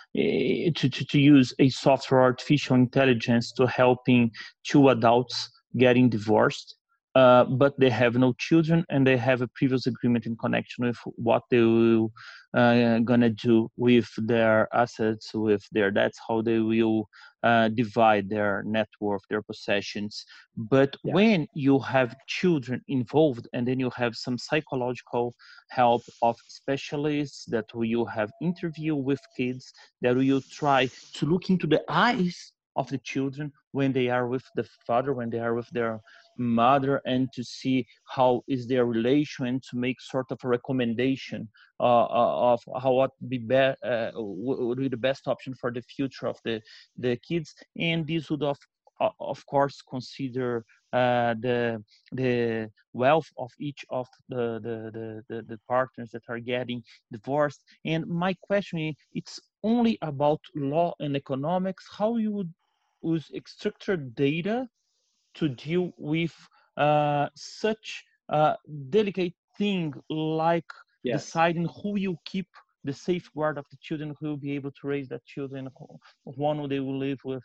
uh, to, to, to use a software artificial intelligence to helping two adults getting divorced. Uh, but they have no children and they have a previous agreement in connection with what they will uh, gonna do with their assets, with their debts, how they will uh, divide their net worth, their possessions. But yeah. When you have children involved, and then you have some psychological help of specialists that will have interview with kids, that will try to look into the eyes of the children when they are with the father, when they are with their mother, and to see how is their relation, and to make sort of a recommendation uh, of how what be, be uh, would be the best option for the future of the the kids. And this would of of course, consider uh, the the wealth of each of the the, the the the partners that are getting divorced. And my question is, it's only about law and economics. How you would use structured data to deal with uh, such a delicate thing like Yes. deciding who you keep the safeguard of the children, who will be able to raise that children, one they will live with?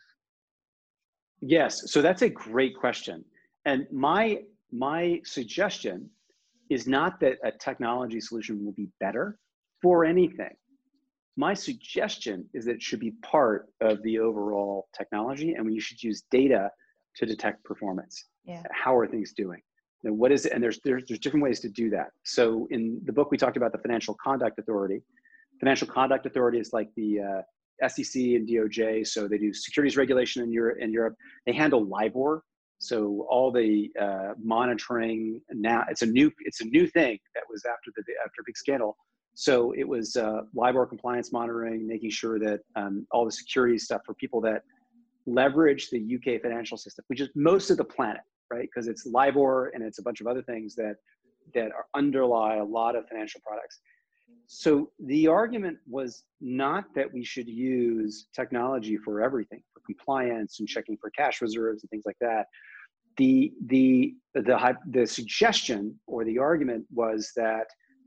Yes, so that's a great question. And my, my suggestion is not that a technology solution will be better for anything. My suggestion is that it should be part of the overall technology, and you should use data to detect performance. Yeah. How are things doing? And what is it? And there's, there's there's different ways to do that. So in the book we talked about the Financial Conduct Authority. Financial Conduct Authority is like the uh, S E C and D O J. So they do securities regulation in Europe. In Europe, they handle LIBOR. So all the uh, monitoring now, it's a new it's a new thing that was after the after a big scandal. So it was uh, LIBOR compliance monitoring, making sure that um, all the security stuff for people that leverage the U K financial system, which is most of the planet, right? Because it's LIBOR and it's a bunch of other things that that are underlie a lot of financial products. So the argument was not that we should use technology for everything, for compliance and checking for cash reserves and things like that. The the the the suggestion or the argument was that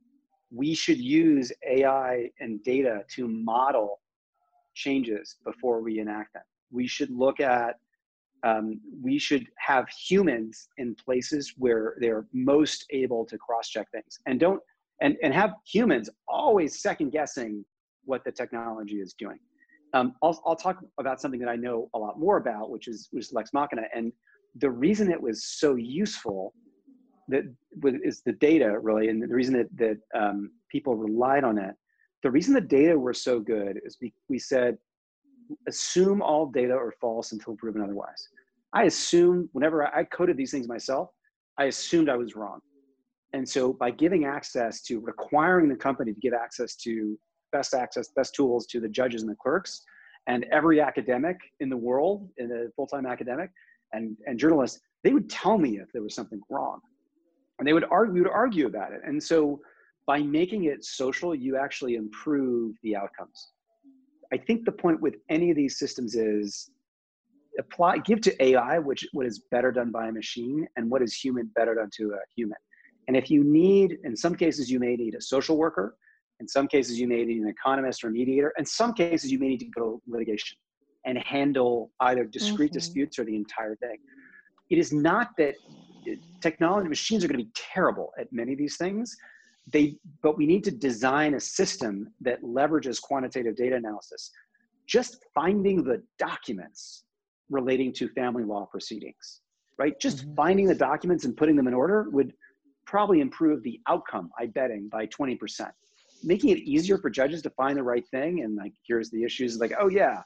we should use A I and data to model changes before we enact them. We should look at, um, we should have humans in places where they're most able to cross-check things, and don't, and, and have humans always second guessing what the technology is doing. Um, I'll, I'll talk about something that I know a lot more about, which is, which is Lex Machina. And the reason it was so useful that is the data, really, and the reason that, that um, people relied on it. The reason the data were so good is we, we said, assume all data are false until proven otherwise. I assumed, whenever I, I coded these things myself, I assumed I was wrong. And so by giving access to, requiring the company to give access to best access, best tools to the judges and the clerks, and every academic in the world, in a full-time academic, and, and journalists, they would tell me if there was something wrong. And they would argue, we would argue about it. And so by making it social, you actually improve the outcomes. I think the point with any of these systems is apply, give to A I, which what is better done by a machine, and what is human better done to a human. And if you need, in some cases, you may need a social worker. In some cases, you may need an economist or a mediator. In some cases, you may need to go to litigation and handle either discrete mm-hmm. disputes or the entire thing. It is not that technology machines are going to be terrible at many of these things. They, but we need to design a system that leverages quantitative data analysis. Just finding the documents relating to family law proceedings, right? Just mm-hmm. finding the documents and putting them in order would probably improve the outcome, I'm betting, by twenty percent. Making it easier for judges to find the right thing, and like, here's the issues, like, oh yeah,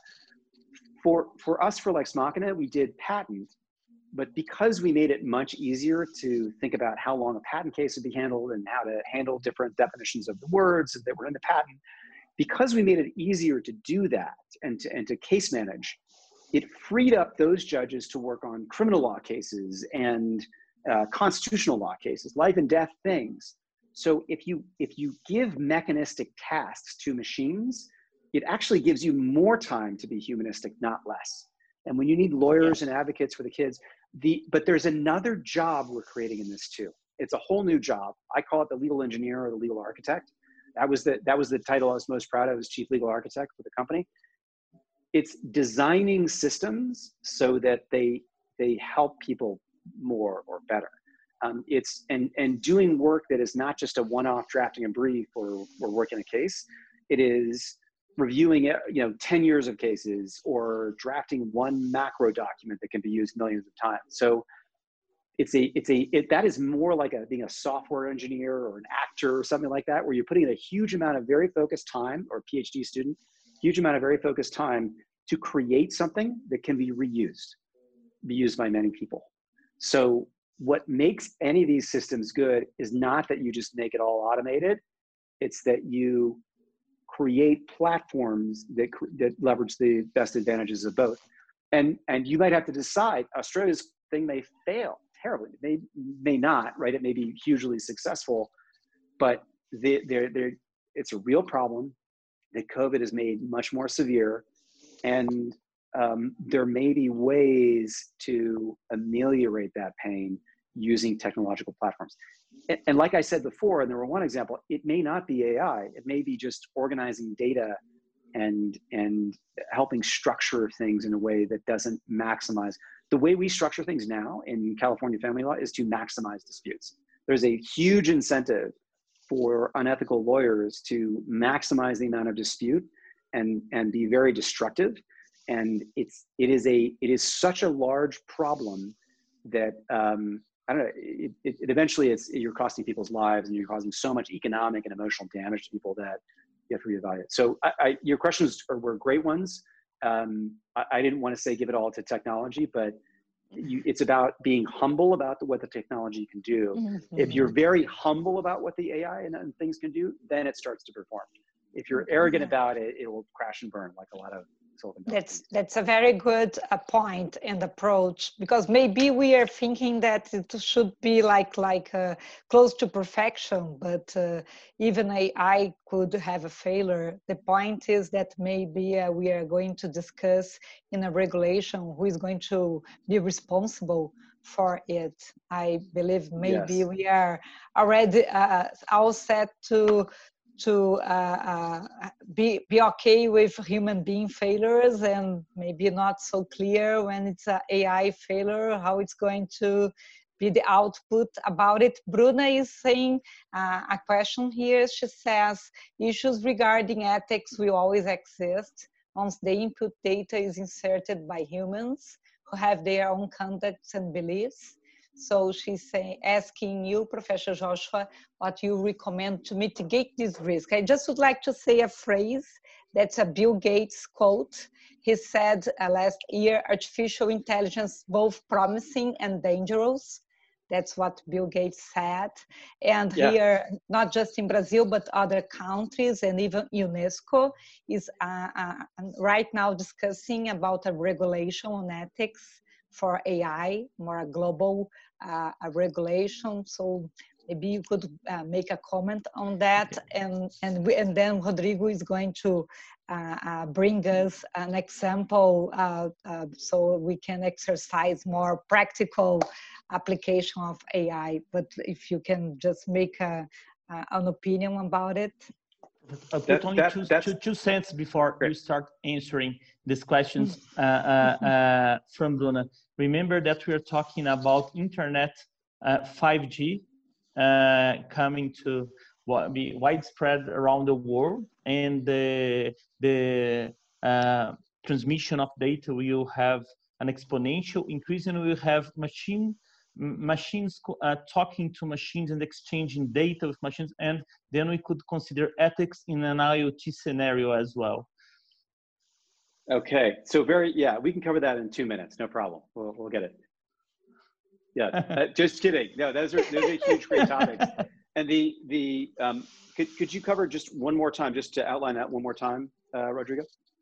for, for us, for Lex Machina, we did patent. But because we made it much easier to think about how long a patent case would be handled and how to handle different definitions of the words that were in the patent, because we made it easier to do that and to, and to case manage, it freed up those judges to work on criminal law cases and uh, constitutional law cases, life and death things. So if you, if you give mechanistic tasks to machines, it actually gives you more time to be humanistic, not less. And when you need lawyers and advocates for the kids, the, but there's another job we're creating in this too. It's a whole new job. I call it the legal engineer or the legal architect. That was the, that was the title I was most proud of as chief legal architect for the company. It's designing systems so that they, they help people more or better. Um, it's, and, and doing work that is not just a one-off drafting a brief or, or working a case. It is reviewing, you know, ten years of cases or drafting one macro document that can be used millions of times. So it's a, it's a, it, that is more like a, being a software engineer or an actor or something like that, where you're putting in a huge amount of very focused time, or a PhD student, huge amount of very focused time to create something that can be reused, be used by many people. So what makes any of these systems good is not that you just make it all automated. It's that you create platforms that, that leverage the best advantages of both. and and you might have to decide. Australia's thing may fail terribly. It may may not, right? It may be hugely successful, but they, they're, they're, it's a real problem that COVID has made much more severe, and um, there may be ways to ameliorate that pain using technological platforms. And, and like I said before, and there were one example, it may not be A I. It may be just organizing data and and helping structure things in a way that doesn't maximize. The way we structure things now in California family law is to maximize disputes. There's a huge incentive for unethical lawyers to maximize the amount of dispute and, and be very destructive. And it's, it is a, it is such a large problem that, um, I don't know, it, it, it eventually it's, you're costing people's lives and you're causing so much economic and emotional damage to people that you have to reevaluate. So I, I, your questions are, were great ones. Um, I, I didn't want to say give it all to technology, but you, it's about being humble about the, what the technology can do. Mm-hmm. If you're very humble about what the A I and, and things can do, then it starts to perform. If you're arrogant yeah. about it, it will crash and burn like a lot of Silicon Valley. That's that's a very good uh, point and approach, because maybe we are thinking that it should be like like uh, close to perfection, but uh, even A I could have a failure. The point is that maybe uh, we are going to discuss in a regulation who is going to be responsible for it. I believe maybe yes. we are already uh, all set to to uh, uh, be, be okay with human being failures, and maybe not so clear when it's an A I failure, how it's going to be the output about it. Bruna is saying uh, a question here. She says, issues regarding ethics will always exist once the input data is inserted by humans who have their own conducts and beliefs. So she's saying, asking you, Professor Joshua, what you recommend to mitigate this risk. I just would like to say a phrase that's a Bill Gates quote. He said uh, last year, artificial intelligence both promising and dangerous. That's what Bill Gates said. And yeah. here, not just in Brazil, but other countries and even UNESCO is uh, uh, right now discussing about a regulation on ethics for A I, more a global uh, a regulation. So maybe you could uh, make a comment on that, and and we, and then Rodrigo is going to uh, uh, bring us an example uh, uh, so we can exercise more practical application of A I. But if you can just make a, uh, an opinion about it. I'll put that, only that, two, two, two cents before great. you start answering these questions uh, uh, uh, from Bruna. Remember that we are talking about internet uh, five G uh, coming to be widespread around the world, and the, the uh, transmission of data will have an exponential increase, and we will have machine machines uh, talking to machines and exchanging data with machines, and then we could consider ethics in an IoT scenario as well. Okay, so very, yeah, we can cover that in two minutes, no problem. We'll, we'll get it. Yeah, uh, just kidding. No, those are, those are huge, great topics. And the, the um, could, could you cover just one more time, just to outline that one more time, uh, Rodrigo?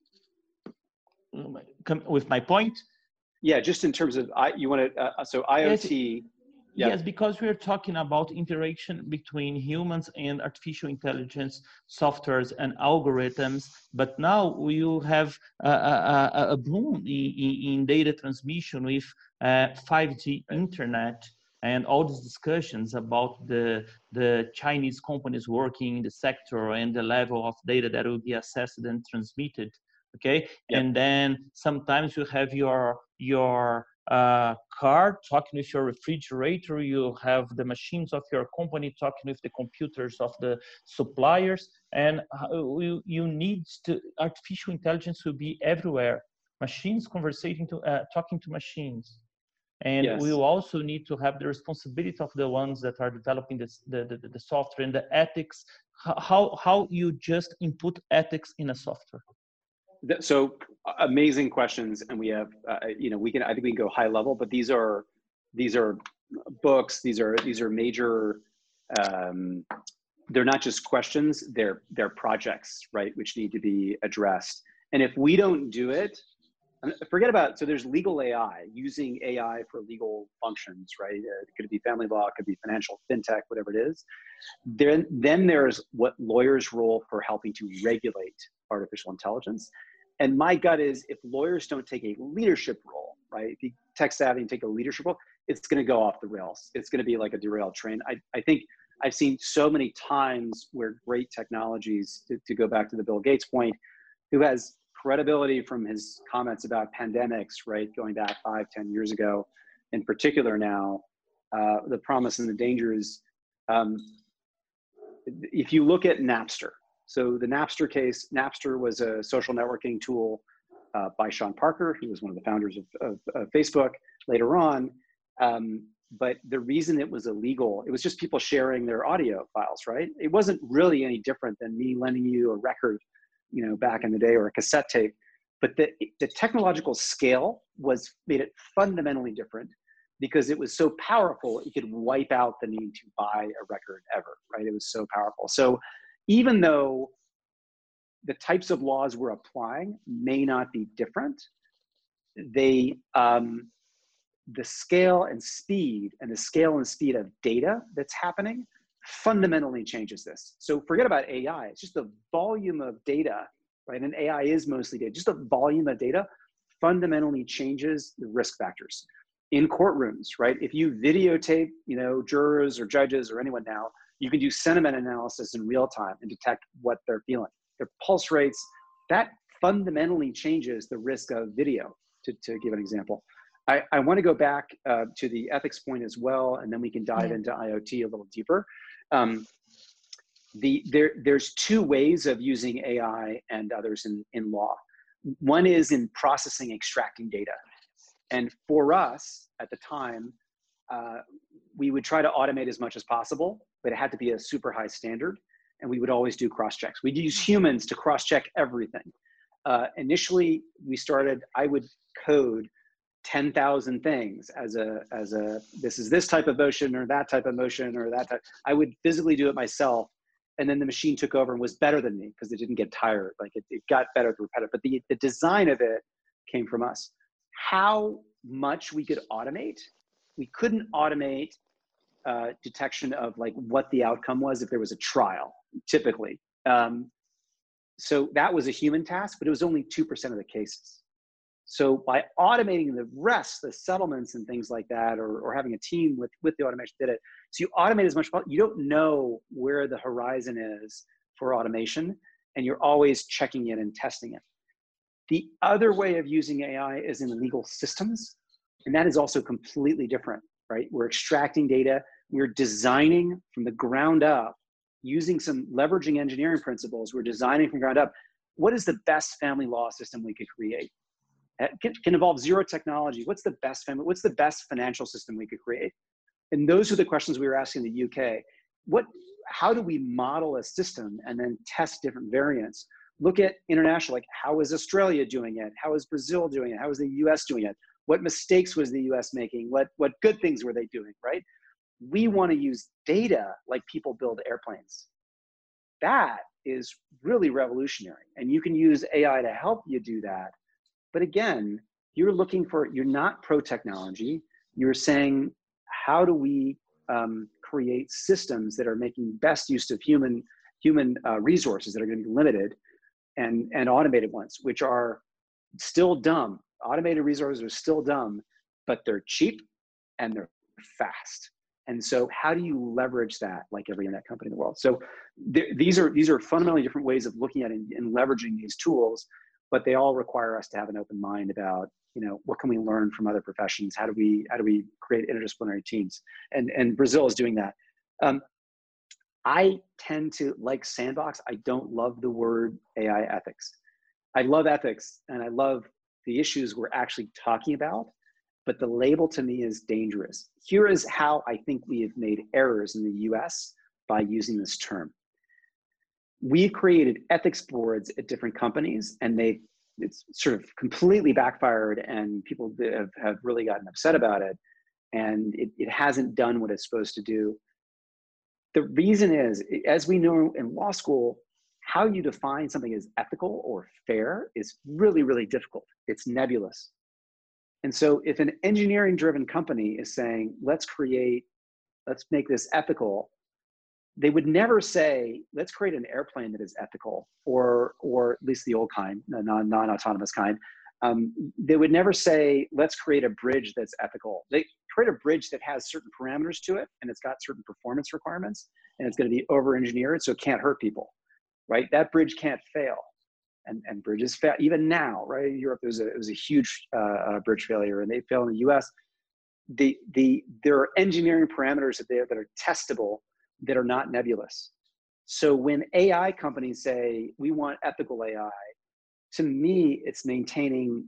With my point? Yeah, just in terms of, I, you want to, uh, so IoT. Yes, yeah. yes, because we're talking about interaction between humans and artificial intelligence softwares and algorithms, but now we will have a, a, a boom in, in data transmission with uh, five G internet and all these discussions about the, the Chinese companies working in the sector and the level of data that will be accessed and transmitted. Okay, yep. And then sometimes you have your your uh, car talking with your refrigerator. You have the machines of your company talking with the computers of the suppliers, and you, you need to artificial intelligence will be everywhere. Machines conversating to uh, talking to machines, and yes. we will also need to have the responsibility of the ones that are developing this, the, the the software and the ethics. How how you just input ethics in a software. So amazing questions, and we have, uh, you know, we can. I think we can go high level, but these are, these are books. These are these are major. Um, they're not just questions. They're they're projects, right, which need to be addressed. And if we don't do it, forget about, so there's legal A I, using A I for legal functions, right? Uh, it could be family law, it could be financial, fintech, whatever it is. Then, then there's what lawyers' role for helping to regulate artificial intelligence. And my gut is if lawyers don't take a leadership role, right? If you tech savvy and take a leadership role, it's gonna go off the rails. It's gonna be like a derailed train. I, I think I've seen so many times where great technologies, to, to go back to the Bill Gates point, who has credibility from his comments about pandemics, right, going back five, ten years ago, in particular now, uh, the promise and the dangers. Um, if you look at Napster, so the Napster case, Napster was a social networking tool uh, by Sean Parker, who was one of the founders of, of, of Facebook later on. Um, but the reason it was illegal, it was just people sharing their audio files, right? It wasn't really any different than me lending you a record, you know, back in the day, or a cassette tape. But the, the technological scale was made it fundamentally different because it was so powerful, it could wipe out the need to buy a record ever, right? It was so powerful. So even though the types of laws we're applying may not be different, they, um, the scale and speed and the scale and speed of data that's happening fundamentally changes this. So forget about A I, it's just the volume of data, right? And A I is mostly data, just the volume of data fundamentally changes the risk factors. In courtrooms, right? If you videotape, you know, jurors or judges or anyone now, you can do sentiment analysis in real time and detect what they're feeling, their pulse rates. That fundamentally changes the risk of video, to, to give an example. I, I want to go back uh, to the ethics point as well, and then we can dive yeah. into I O T a little deeper. Um, the, there, there's two ways of using A I and others in, in law. One is in processing, extracting data. And for us at the time, uh, we would try to automate as much as possible, but it had to be a super high standard. And we would always do cross-checks. We'd use humans to cross-check everything. Uh, initially, we started, I would code ten thousand things as a, as a, this is this type of motion or that type of motion or that type. I would physically do it myself. And then the machine took over and was better than me because it didn't get tired. Like it, it got better through repetitive, but the, the design of it came from us. How much we could automate? We couldn't automate uh, detection of like what the outcome was if there was a trial, typically. Um, so that was a human task, but it was only two percent of the cases. So by automating the rest, the settlements and things like that, or, or having a team with, with the automation did it. So you automate as much, you don't know where the horizon is for automation, and you're always checking it and testing it. The other way of using A I is in legal systems, and that is also completely different, right? We're extracting data, we're designing from the ground up, using some leveraging engineering principles, we're designing from the ground up. What is the best family law system we could create? It can, can involve zero technology. What's the best family, what's the best financial system we could create? And those are the questions we were asking in the U K. What, how do we model a system and then test different variants? Look at international, like how is Australia doing it? How is Brazil doing it? How is the U S doing it? What mistakes was the U S making? What, what good things were they doing, right? We want to use data like people build airplanes. That is really revolutionary. And you can use A I to help you do that. But again, you're looking for, you're not pro-technology. You're saying, how do we um, create systems that are making best use of human, human uh, resources that are going to be limited, and, and automated ones, which are still dumb. Automated resources are still dumb, but they're cheap and they're fast. And so how do you leverage that like every internet company in the world? So th these are these are fundamentally different ways of looking at it and, and leveraging these tools, but they all require us to have an open mind about, you know, what can we learn from other professions? How do we how do we create interdisciplinary teams? And and Brazil is doing that. Um, I tend to like sandbox. I don't love the word A I ethics. I love ethics and I love the issues we're actually talking about, but the label to me is dangerous. Here is how I think we have made errors in the U S by using this term. We created ethics boards at different companies, and they it's sort of completely backfired, and people have, have really gotten upset about it, and it, it hasn't done what it's supposed to do. The reason is, as we know in law school, how you define something as ethical or fair is really, really difficult. It's nebulous. And so if an engineering driven company is saying, let's create, let's make this ethical, they would never say, let's create an airplane that is ethical, or, or at least the old kind, the non, non-autonomous kind. Um, they would never say, let's create a bridge that's ethical. They create a bridge that has certain parameters to it, and it's got certain performance requirements, and it's going to be over-engineered so it can't hurt people, right? That bridge can't fail. And, and bridges fail, even now, right? In Europe, there was a, it was a huge uh, bridge failure, and they fail in the U S. The, the, there are engineering parameters that, they, that are testable that are not nebulous. So when A I companies say, we want ethical A I, to me, it's maintaining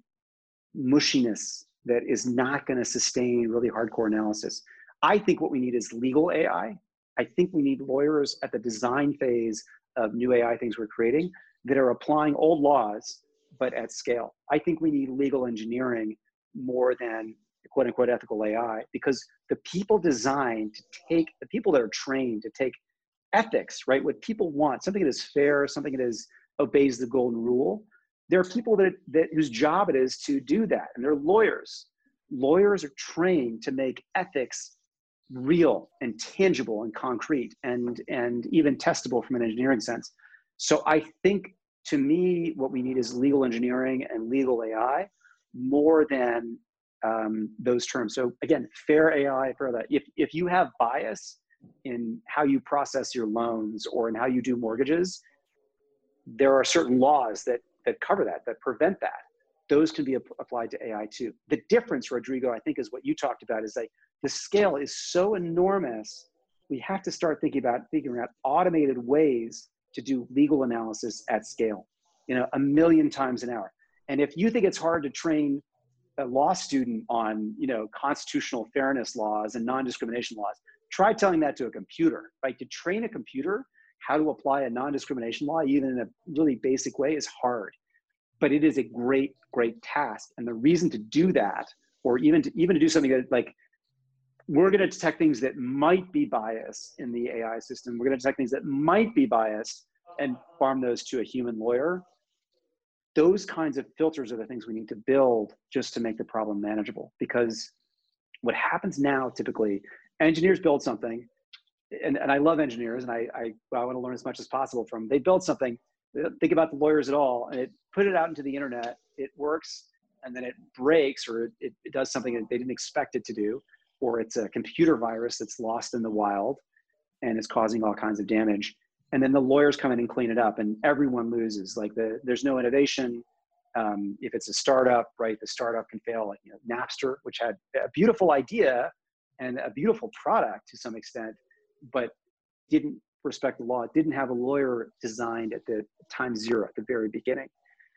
mushiness that is not going to sustain really hardcore analysis. I think what we need is legal A I. I think we need lawyers at the design phase of new A I things we're creating that are applying old laws, but at scale. I think we need legal engineering more than quote unquote ethical A I, because the people designed to take, the people that are trained to take ethics, right? What people want, something that is fair, something that is obeys the golden rule. There are people that, that whose job it is to do that, and they're lawyers. Lawyers are trained to make ethics real and tangible and concrete and, and even testable from an engineering sense. So I think, to me, what we need is legal engineering and legal A I more than um, those terms. So again, fair A I, fair that. If, if you have bias in how you process your loans or in how you do mortgages, there are certain laws that, that cover that, that prevent that. Those can be ap applied to A I too. The difference, Rodrigo, I think is what you talked about, is like the scale is so enormous, we have to start thinking about figuring out automated ways to do legal analysis at scale, you know, a million times an hour. And if you think it's hard to train a law student on, you know, constitutional fairness laws and non-discrimination laws, try telling that to a computer, right? To train a computer how to apply a non-discrimination law, even in a really basic way, is hard. But it is a great, great task. And the reason to do that, or even to, even to do something that, like, we're going to detect things that might be biased in the A I system. We're going to detect things that might be biased and farm those to a human lawyer. Those kinds of filters are the things we need to build just to make the problem manageable. Because what happens now, typically, engineers build something, and, and I love engineers, and I, I, I want to learn as much as possible from them. They build something, they don't think about the lawyers at all, and it put it out into the internet, it works, and then it breaks, or it, it does something that they didn't expect it to do, or it's a computer virus that's lost in the wild and is causing all kinds of damage. And then the lawyers come in and clean it up, and everyone loses. Like the, there's no innovation. Um, if it's a startup, right, the startup can fail. Like, you know, Napster, which had a beautiful idea and a beautiful product to some extent, but didn't respect the law. It didn't have a lawyer designed at the time zero, at the very beginning.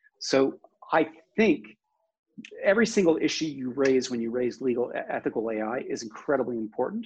So I think every single issue you raise when you raise legal ethical A I is incredibly important.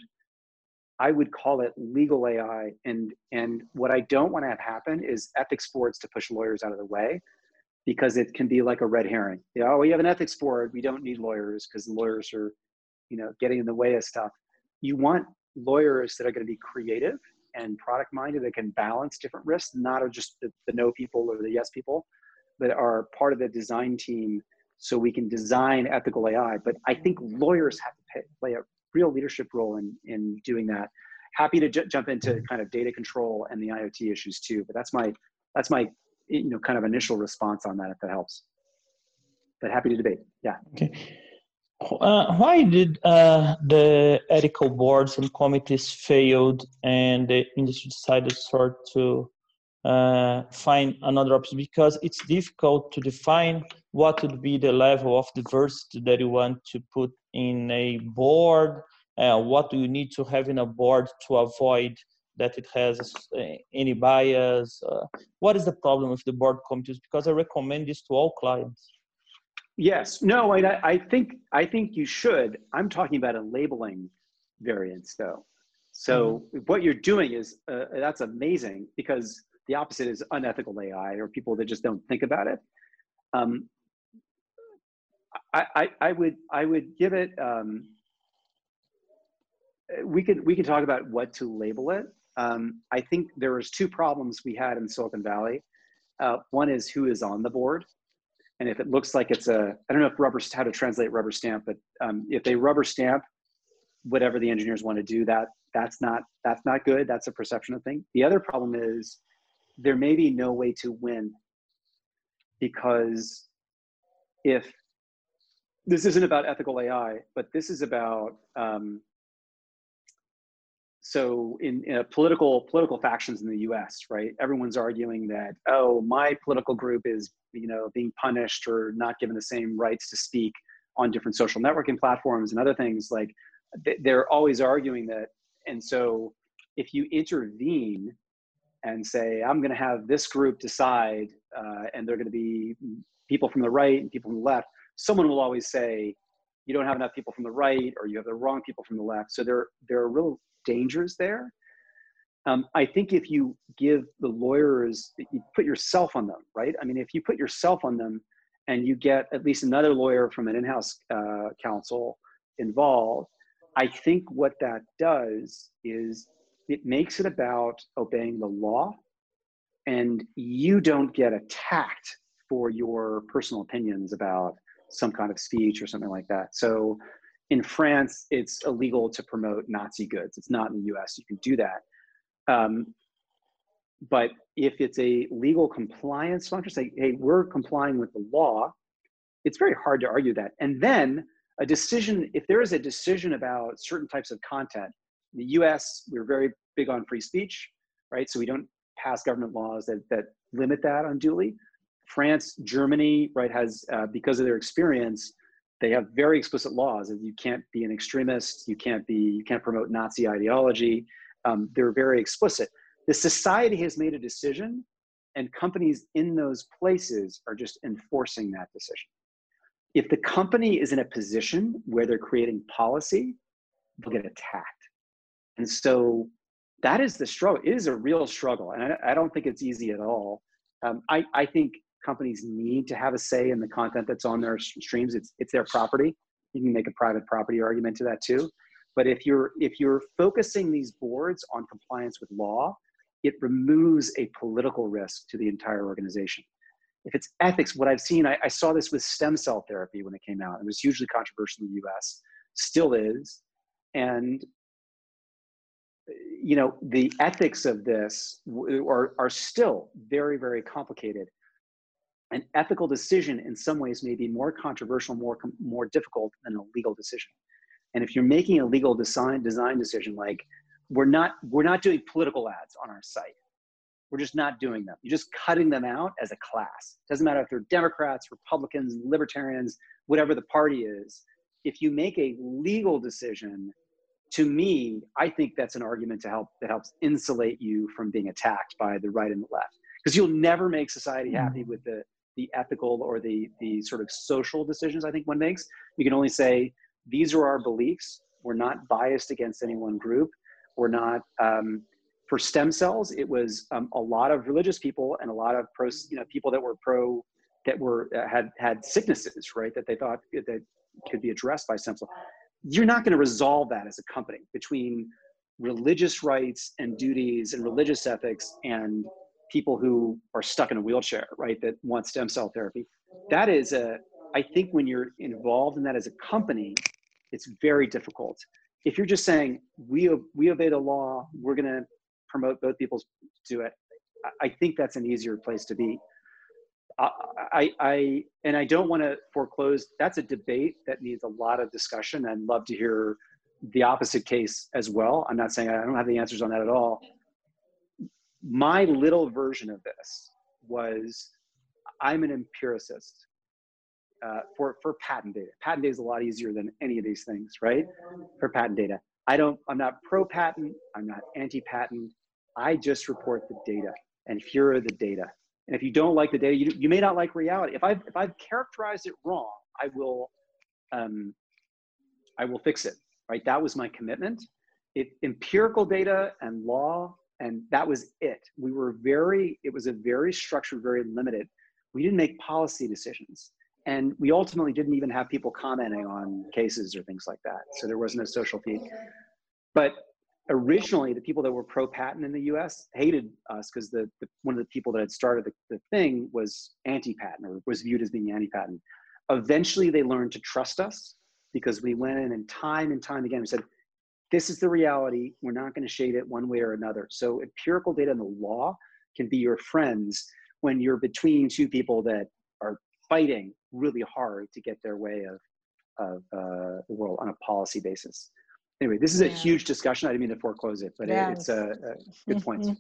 I would call it legal A I. And, and what I don't want to have happen is ethics boards to push lawyers out of the way, because it can be like a red herring. You know, oh, we have an ethics board, we don't need lawyers because the lawyers are, you know, getting in the way of stuff. You want lawyers that are going to be creative and product minded, that can balance different risks, not just the, the no people or the yes people, that are part of the design team, so we can design ethical A I. But I think lawyers have to pay, play a real leadership role in, in doing that. Happy to j jump into kind of data control and the I O T issues too, but that's my, that's my, you know, kind of initial response on that, if that helps. But happy to debate, yeah. Okay. Uh, why did uh, the ethical boards and committees failed and the industry decided sort to uh, find another option? Because it's difficult to define what would be the level of diversity that you want to put in a board. Uh, what do you need to have in a board to avoid that it has uh, any bias? Uh, what is the problem with the board committees? Because I recommend this to all clients. Yes, no, I, I think I think you should. I'm talking about a labeling variance, though. So mm-hmm. what you're doing is uh, that's amazing, because the opposite is unethical A I, or people that just don't think about it. Um, I, I, I would I would give it. Um, we could we could talk about what to label it. Um, I think there was two problems we had in Silicon Valley. Uh, one is who is on the board. And if it looks like it's a, I don't know if rubber, how to translate rubber stamp, but um, if they rubber stamp whatever the engineers want to do, that that's not, that's not good. That's a perception of thing. The other problem is there may be no way to win, because if this isn't about ethical A I, but this is about, um, so in, in a political political factions in the U S, right? Everyone's arguing that, oh, my political group is, you know, being punished or not given the same rights to speak on different social networking platforms and other things. Like, they're always arguing that. And so if you intervene and say, I'm going to have this group decide, uh, and they're going to be people from the right and people from the left, someone will always say, you don't have enough people from the right, or you have the wrong people from the left. So there, there are real dangers there. Um, I think if you give the lawyers, you put yourself on them, right? I mean, if you put yourself on them and you get at least another lawyer from an in-house uh, counsel involved, I think what that does is it makes it about obeying the law, and you don't get attacked for your personal opinions about some kind of speech or something like that. So in France, it's illegal to promote Nazi goods. It's not in the U S, you can do that. Um, but if it's a legal compliance function, say, hey, we're complying with the law, it's very hard to argue that. And then a decision, if there is a decision about certain types of content, in the U S, we're very big on free speech, right? So we don't pass government laws that, that limit that unduly. France, Germany, right, has, uh, because of their experience, they have very explicit laws that you can't be an extremist, you can't be, you can't promote Nazi ideology. Um, they're very explicit. The society has made a decision, and companies in those places are just enforcing that decision. If the company is in a position where they're creating policy, they'll get attacked. And so that is the struggle. It is a real struggle. And I, I don't think it's easy at all. Um, I, I think companies need to have a say in the content that's on their streams. It's, it's their property. You can make a private property argument to that too. But if you're, if you're focusing these boards on compliance with law, it removes a political risk to the entire organization. If it's ethics, what I've seen, I, I saw this with stem cell therapy when it came out. It was hugely controversial in the U S, still is. And, you know, the ethics of this are, are still very, very complicated. An ethical decision in some ways may be more controversial, more, more difficult than a legal decision. And if you're making a legal design, design decision, like we're not, we're not doing political ads on our site. We're just not doing them. You're just cutting them out as a class. Doesn't matter if they're Democrats, Republicans, Libertarians, whatever the party is. If you make a legal decision, to me, I think that's an argument to help, that helps insulate you from being attacked by the right and the left. Because you'll never make society happy with the, the ethical or the, the sort of social decisions I think one makes. You can only say, these are our beliefs. We're not biased against any one group. We're not, um, for stem cells, it was um, a lot of religious people and a lot of pro, you know, people that were pro, that were, uh, had, had sicknesses, right? That they thought that could be addressed by stem cells. You're not going to resolve that as a company between religious rights and duties and religious ethics and people who are stuck in a wheelchair, right? That want stem cell therapy. That is a, I think when you're involved in that as a company, it's very difficult. If you're just saying, we, we obey the law, we're going to promote both people's do it, I think that's an easier place to be. I, I, I and I don't want to foreclose, that's a debate that needs a lot of discussion. I'd love to hear the opposite case as well. I'm not saying I don't have the answers on that at all. My little version of this was, I'm an empiricist uh, for, for patent data. Patent data is a lot easier than any of these things, right? For patent data. I don't, I'm not pro-patent, I'm not anti-patent. I just report the data, and here are the data. And if you don't like the data, you, you may not like reality. If I've, if I've characterized it wrong, I will, um, I will fix it, right? That was my commitment. It, empirical data and law, and that was it. We were very, it was a very structured, very limited. We didn't make policy decisions. And we ultimately didn't even have people commenting on cases or things like that. So there wasn't a social feed. But originally, the people that were pro-patent in the U S hated us because the, the one of the people that had started the, the thing was anti-patent, or was viewed as being anti-patent. Eventually, they learned to trust us because we went in and time and time again we said, this is the reality. We're not going to shade it one way or another. So empirical data and the law can be your friends when you're between two people that are fighting really hard to get their way of, of uh, the world on a policy basis. Anyway, this is a yeah. huge discussion. I didn't mean to foreclose it, but yes. it, it's a, a good point.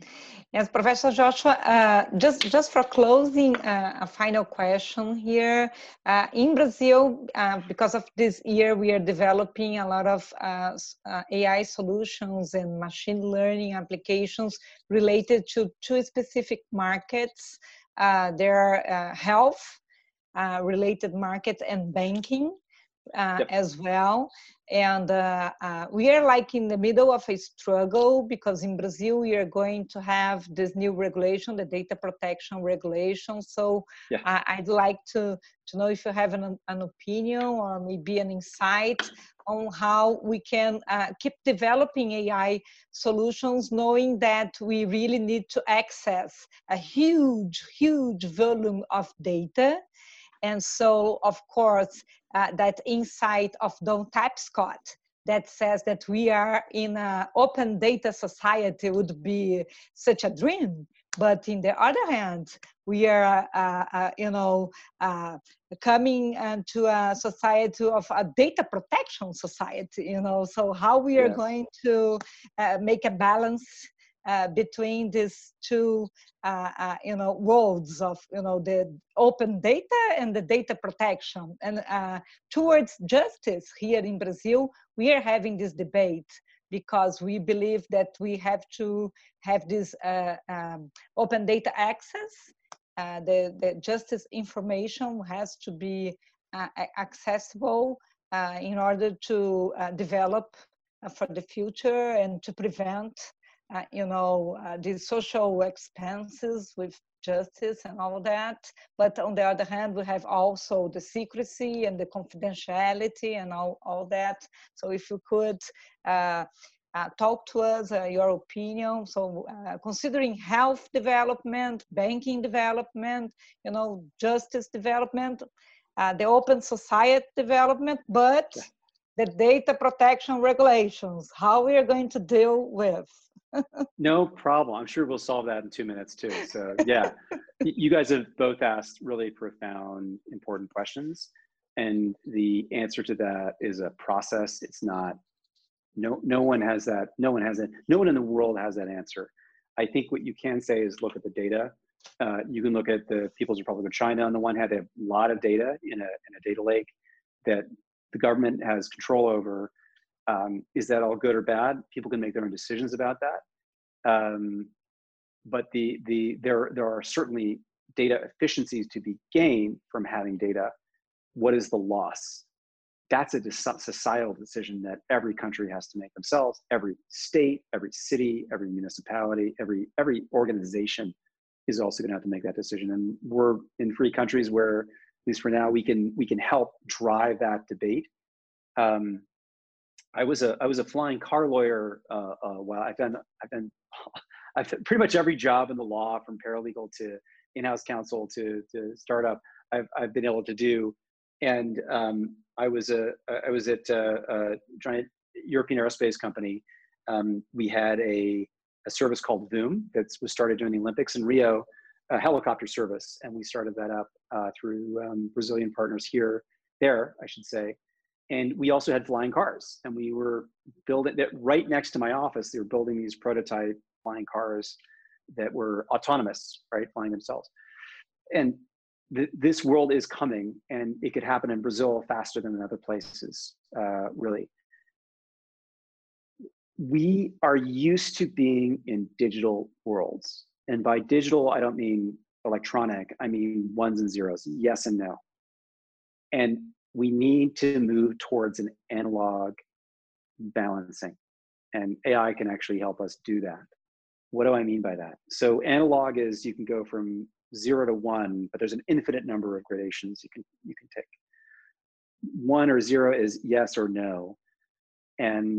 Yes, Professor Joshua, uh, just, just for closing, uh, a final question here. Uh, in Brazil, uh, because of this year, we are developing a lot of uh, uh, A I solutions and machine learning applications related to two specific markets. Uh, there are uh, health uh, related markets and banking. Uh, yep. as well. And uh, uh, we are like in the middle of a struggle because in Brazil, we are going to have this new regulation, the data protection regulation. So yeah. uh, I'd like to, to know if you have an, an opinion or maybe an insight on how we can uh, keep developing A I solutions, knowing that we really need to access a huge, huge volume of data. And so, of course, uh, that insight of Don Tapscott that says that we are in an open data society would be such a dream. But in the other hand, we are, uh, uh, you know, uh, coming into a society of a data protection society, you know, so how we are yes. going to uh, make a balance Uh, between these two, uh, uh, you know, worlds of, you know, the open data and the data protection. And uh, towards justice here in Brazil, we are having this debate because we believe that we have to have this uh, um, open data access. Uh, the, the justice information has to be uh, accessible uh, in order to uh, develop uh, for the future and to prevent Uh, you know, uh, the social expenses with justice and all that. But on the other hand, we have also the secrecy and the confidentiality and all, all that. So if you could uh, uh, talk to us, uh, your opinion. So uh, considering health development, banking development, you know, justice development, uh, the open society development, but the data protection regulations, how we are going to deal with. No problem. I'm sure we'll solve that in two minutes too. So yeah, you guys have both asked really profound, important questions. And the answer to that is a process. It's not, no, no one has that, no one has it. No one in the world has that answer. I think what you can say is look at the data. Uh, you can look at the People's Republic of China on the one hand. They have a lot of data in a, in a data lake that the government has control over. Um, is that all good or bad? People can make their own decisions about that. Um, but the, the, there, there are certainly data efficiencies to be gained from having data. What is the loss? That's a societal decision that every country has to make themselves. Every state, every city, every municipality, every, every organization is also going to have to make that decision. And we're in free countries where, at least for now, we can, we can help drive that debate. Um, I was a I was a flying car lawyer. Uh, uh, while I've done I've done I've done pretty much every job in the law, from paralegal to in-house counsel to to startup. I've I've been able to do, and um, I was a I was at a, a giant European aerospace company. Um, we had a a service called Voom that was started during the Olympics in Rio, a helicopter service, and we started that up uh, through um, Brazilian partners here there I should say. And we also had flying cars, and we were building that right next to my office. They were building these prototype flying cars that were autonomous, right, flying themselves. And th this world is coming, and it could happen in Brazil faster than in other places, uh, really. We are used to being in digital worlds. And by digital, I don't mean electronic, I mean ones and zeros, yes and no. And we need to move towards an analog balancing, and A I can actually help us do that. What do I mean by that? So analog is you can go from zero to one, but there's an infinite number of gradations you can you can take. One or zero is yes or no, and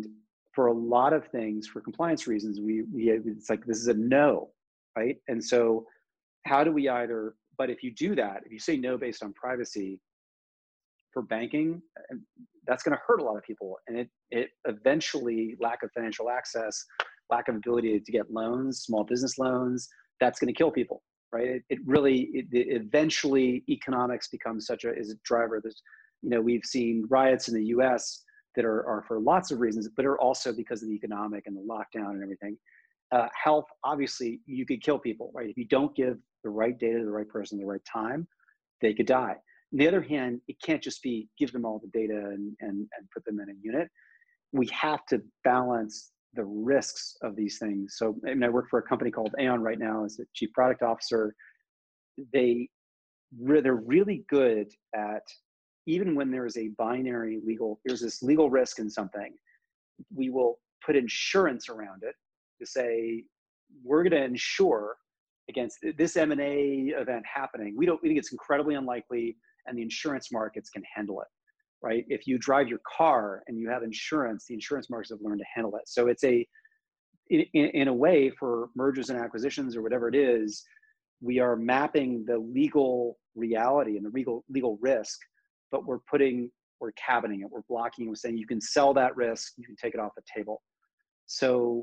for a lot of things, for compliance reasons, we, we it's like, this is a no, right? And so how do we either, but if you do that, if you say no based on privacy for banking, that's going to hurt a lot of people. And it, it eventually, lack of financial access, lack of ability to get loans, small business loans, that's going to kill people, right? It, it really, it, it eventually economics becomes such a, is a driver. There's, you know, we've seen riots in the U S that are, are for lots of reasons, but are also because of the economic and the lockdown and everything. Uh, health, obviously, you could kill people, right? If you don't give the right data to the right person at the right time, they could die. On the other hand, it can't just be give them all the data and, and, and put them in a unit. We have to balance the risks of these things. So, I mean, I work for a company called Aon right now as the chief product officer. They, they're really good at, even when there is a binary legal, there's this legal risk in something, we will put insurance around it to say, we're going to insure against this M and A event happening. We don't, we think it's incredibly unlikely, and the insurance markets can handle it, right? If you drive your car and you have insurance, the insurance markets have learned to handle it. So it's a, in, in a way, for mergers and acquisitions or whatever it is, we are mapping the legal reality and the legal legal risk, but we're putting, we're cabining it, we're blocking it, we're saying you can sell that risk, you can take it off the table. So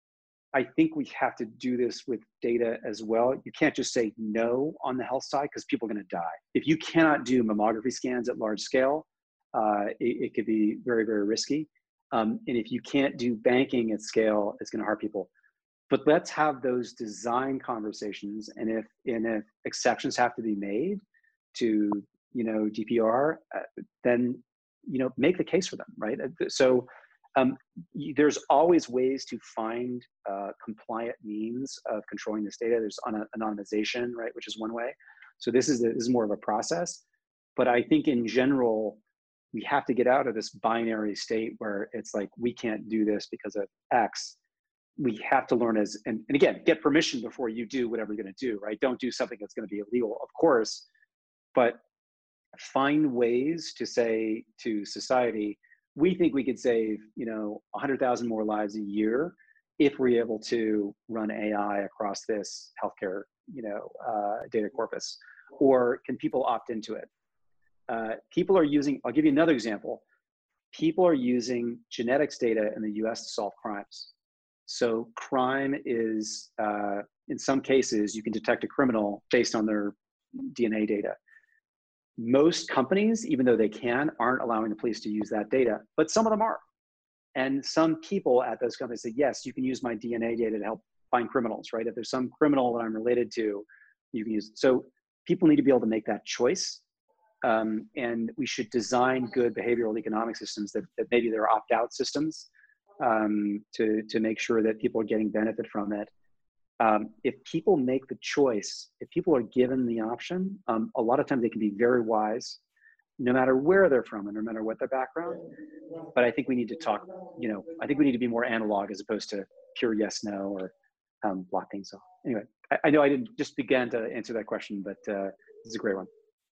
I think we have to do this with data as well. You can't just say no on the health side because people are going to die. If you cannot do mammography scans at large scale, uh, it, it could be very, very risky. Um, and if you can't do banking at scale, it's going to hurt people. But let's have those design conversations. And if, and if exceptions have to be made to, you know, G D P R, uh, then, you know, make the case for them, right? So um, there's always ways to find uh, compliant means of controlling this data. There's anonymization, right, which is one way. So this is, a, this is more of a process. But I think in general, we have to get out of this binary state where it's like, we can't do this because of X. We have to learn as, and, and again, get permission before you do whatever you're going to do, right? Don't do something that's going to be illegal, of course, but find ways to say to society, we think we could save, you know, one hundred thousand more lives a year if we're able to run A I across this healthcare, you know, uh, data corpus. Or can people opt into it? Uh, people are using, I'll give you another example. People are using genetics data in the U S to solve crimes. So crime is, uh, in some cases, you can detect a criminal based on their D N A data. Most companies, even though they can, aren't allowing the police to use that data, but some of them are. And some people at those companies say, yes, you can use my D N A data to help find criminals, right? If there's some criminal that I'm related to, you can use it. So people need to be able to make that choice. Um, and we should design good behavioral economic systems that, that maybe they're opt-out systems um, to, to make sure that people are getting benefit from it. Um, if people make the choice, if people are given the option, um, a lot of times they can be very wise, no matter where they're from and no matter what their background. But I think we need to talk, you know, I think we need to be more analog as opposed to pure yes, no, or um, block things off. Anyway, I, I know I didn't just begin to answer that question, but uh, this is a great one.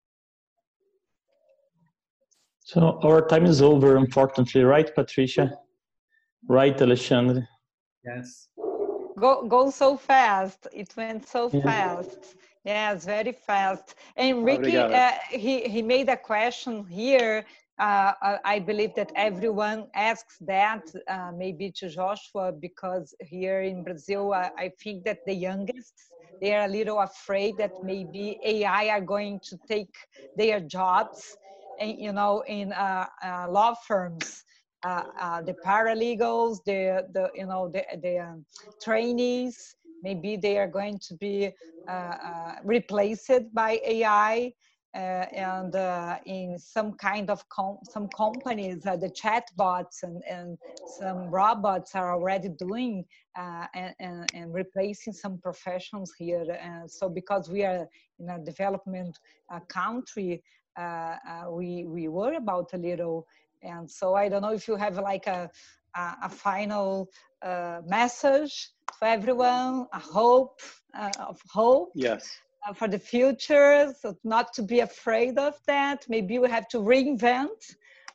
So our time is over, unfortunately, right, Patricia? Right, Alexandre? Yes. Go, go so fast. It went so Yeah. fast. Yes, very fast. And Ricky, uh, he, he made a question here. Uh, I believe that everyone asks that, uh, maybe to Joshua, because here in Brazil, uh, I think that the youngest, they are a little afraid that maybe A I are going to take their jobs, and, you know, in uh, uh, law firms. Uh, uh, the paralegals, the, the you know, the, the um, trainees, maybe they are going to be uh, uh, replaced by A I, uh, and uh, in some kind of com some companies, uh, the chatbots and, and some robots are already doing uh, and, and, and replacing some professions here. And so because we are in a development uh, country, uh, uh, we, we worry about a little. And so I don't know if you have like a, a, a final uh, message for everyone, a hope uh, of hope yes. uh, for the future, so not to be afraid of that. Maybe we have to reinvent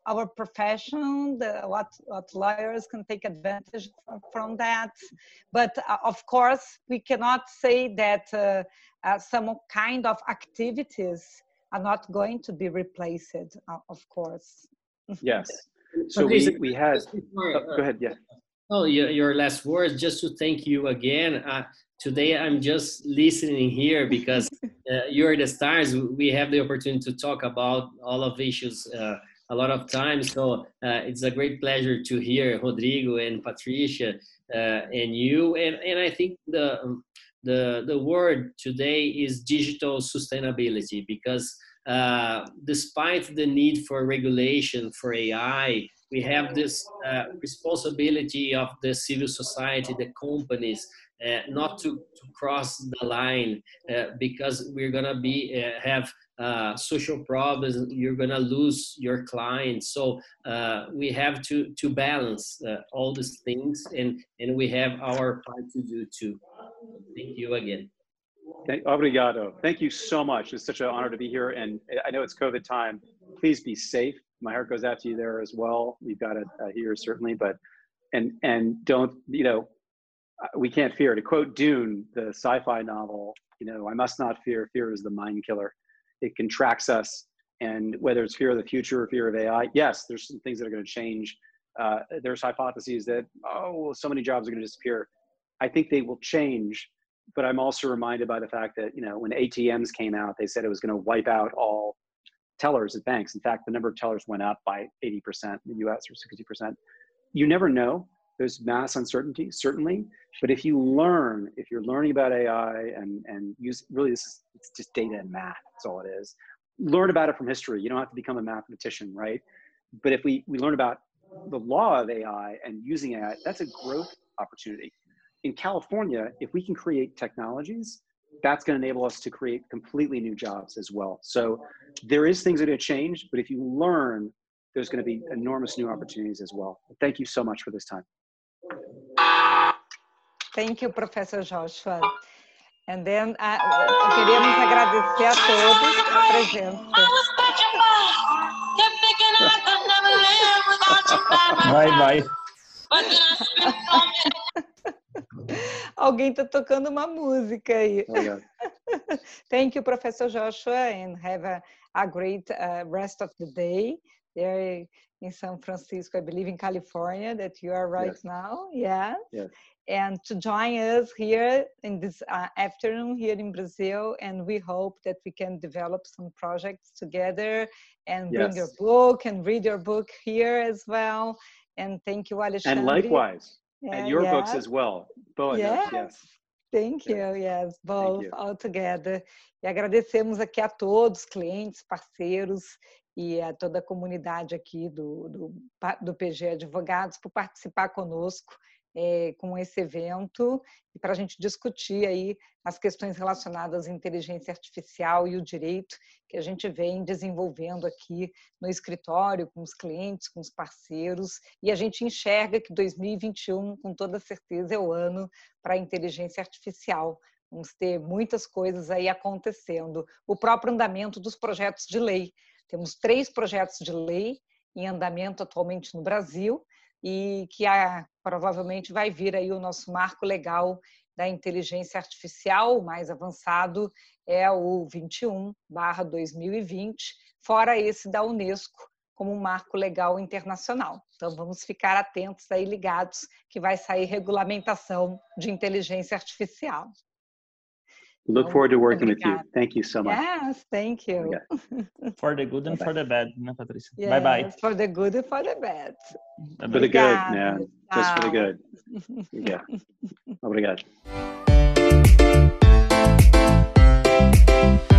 our profession, the, what, what lawyers can take advantage from, from that. But uh, of course, we cannot say that uh, uh, some kind of activities are not going to be replaced, uh, of course. Yes. So we, we had, before, oh, go ahead, yeah. Oh, your, your last words, just to thank you again. Uh, today, I'm just listening here because uh, you're the stars. We have the opportunity to talk about all of issues uh, a lot of times. So uh, it's a great pleasure to hear Rodrigo and Patricia uh, and you. And, and I think the, the, the word today is digital sustainability, because uh, despite the need for regulation for A I, we have this uh, responsibility of the civil society, the companies, uh, not to, to cross the line uh, because we're gonna be uh, have uh, social problems. You're gonna lose your clients. So uh, we have to to balance uh, all these things, and and we have our part to do too. Thank you again. Thank, obrigado. Thank you so much. It's such an honor to be here, and I know it's COVID time. Please be safe. My heart goes out to you there as well. We've got it uh, here certainly, but and and don't, you know, we can't fear. To quote Dune, the sci-fi novel, you know, I must not fear. Fear is the mind killer. It contracts us, and whether it's fear of the future or fear of A I, yes, there's some things that are going to change. Uh, there's hypotheses that, oh, so many jobs are going to disappear. I think they will change, but I'm also reminded by the fact that, you know, when A T Ms came out, they said it was going to wipe out all tellers at banks. In fact, the number of tellers went up by eighty percent in the U S or sixty percent. You never know. There's mass uncertainty, certainly. But if you learn, if you're learning about A I and, and use, really this is, it's just data and math, that's all it is. Learn about it from history. You don't have to become a mathematician, right? But if we, we learn about the law of A I and using A I, that's a growth opportunity. In California, if we can create technologies, that's going to enable us to create completely new jobs as well. So there is things that are going to change, but if you learn, there's going to be enormous new opportunities as well. Thank you so much for this time. Thank you, Professor Joshua. And then uh, queremos agradecer a todos a presença. Vai, vai. Alguém está tocando uma música aí. Oh, yeah. Thank you, Professor Joshua, and have a, a great uh, rest of the day there in San Francisco, I believe in California, that you are right Yes. now. Yeah. Yes. And to join us here in this uh, afternoon here in Brazil, and we hope that we can develop some projects together and bring Yes. your book and read your book here as well. And thank you, Alexandre. And likewise, Yeah, and your yeah. books as well. Boa, Yes. yes. Thank you, Yes. yes, both you. all together. E agradecemos aqui a todos, clientes, parceiros e a toda a comunidade aqui do, do, do P G Advogados por participar conosco é, com esse evento e para a gente discutir aí as questões relacionadas à inteligência artificial e o direito que a gente vem desenvolvendo aqui no escritório, com os clientes, com os parceiros, e a gente enxerga que dois mil e vinte e um, com toda certeza, é o ano para a inteligência artificial. Vamos ter muitas coisas aí acontecendo. O próprio andamento dos projetos de lei. Temos três projetos de lei em andamento atualmente no Brasil e que a, provavelmente vai vir aí o nosso marco legal da inteligência artificial. O mais avançado é o vinte e um barra dois mil e vinte, fora esse da Unesco, como um marco legal internacional. Então, vamos ficar atentos aí, ligados, que vai sair regulamentação de inteligência artificial. Look forward to working with you. Thank you so much. Yes, thank you. For the good and Bye-bye. for the bad, né, Patrícia? Yes, Bye bye. for the good and for the bad. Bye For the bye. good, Obrigada. man. Just for the Tchau. good. Yeah. Obrigado.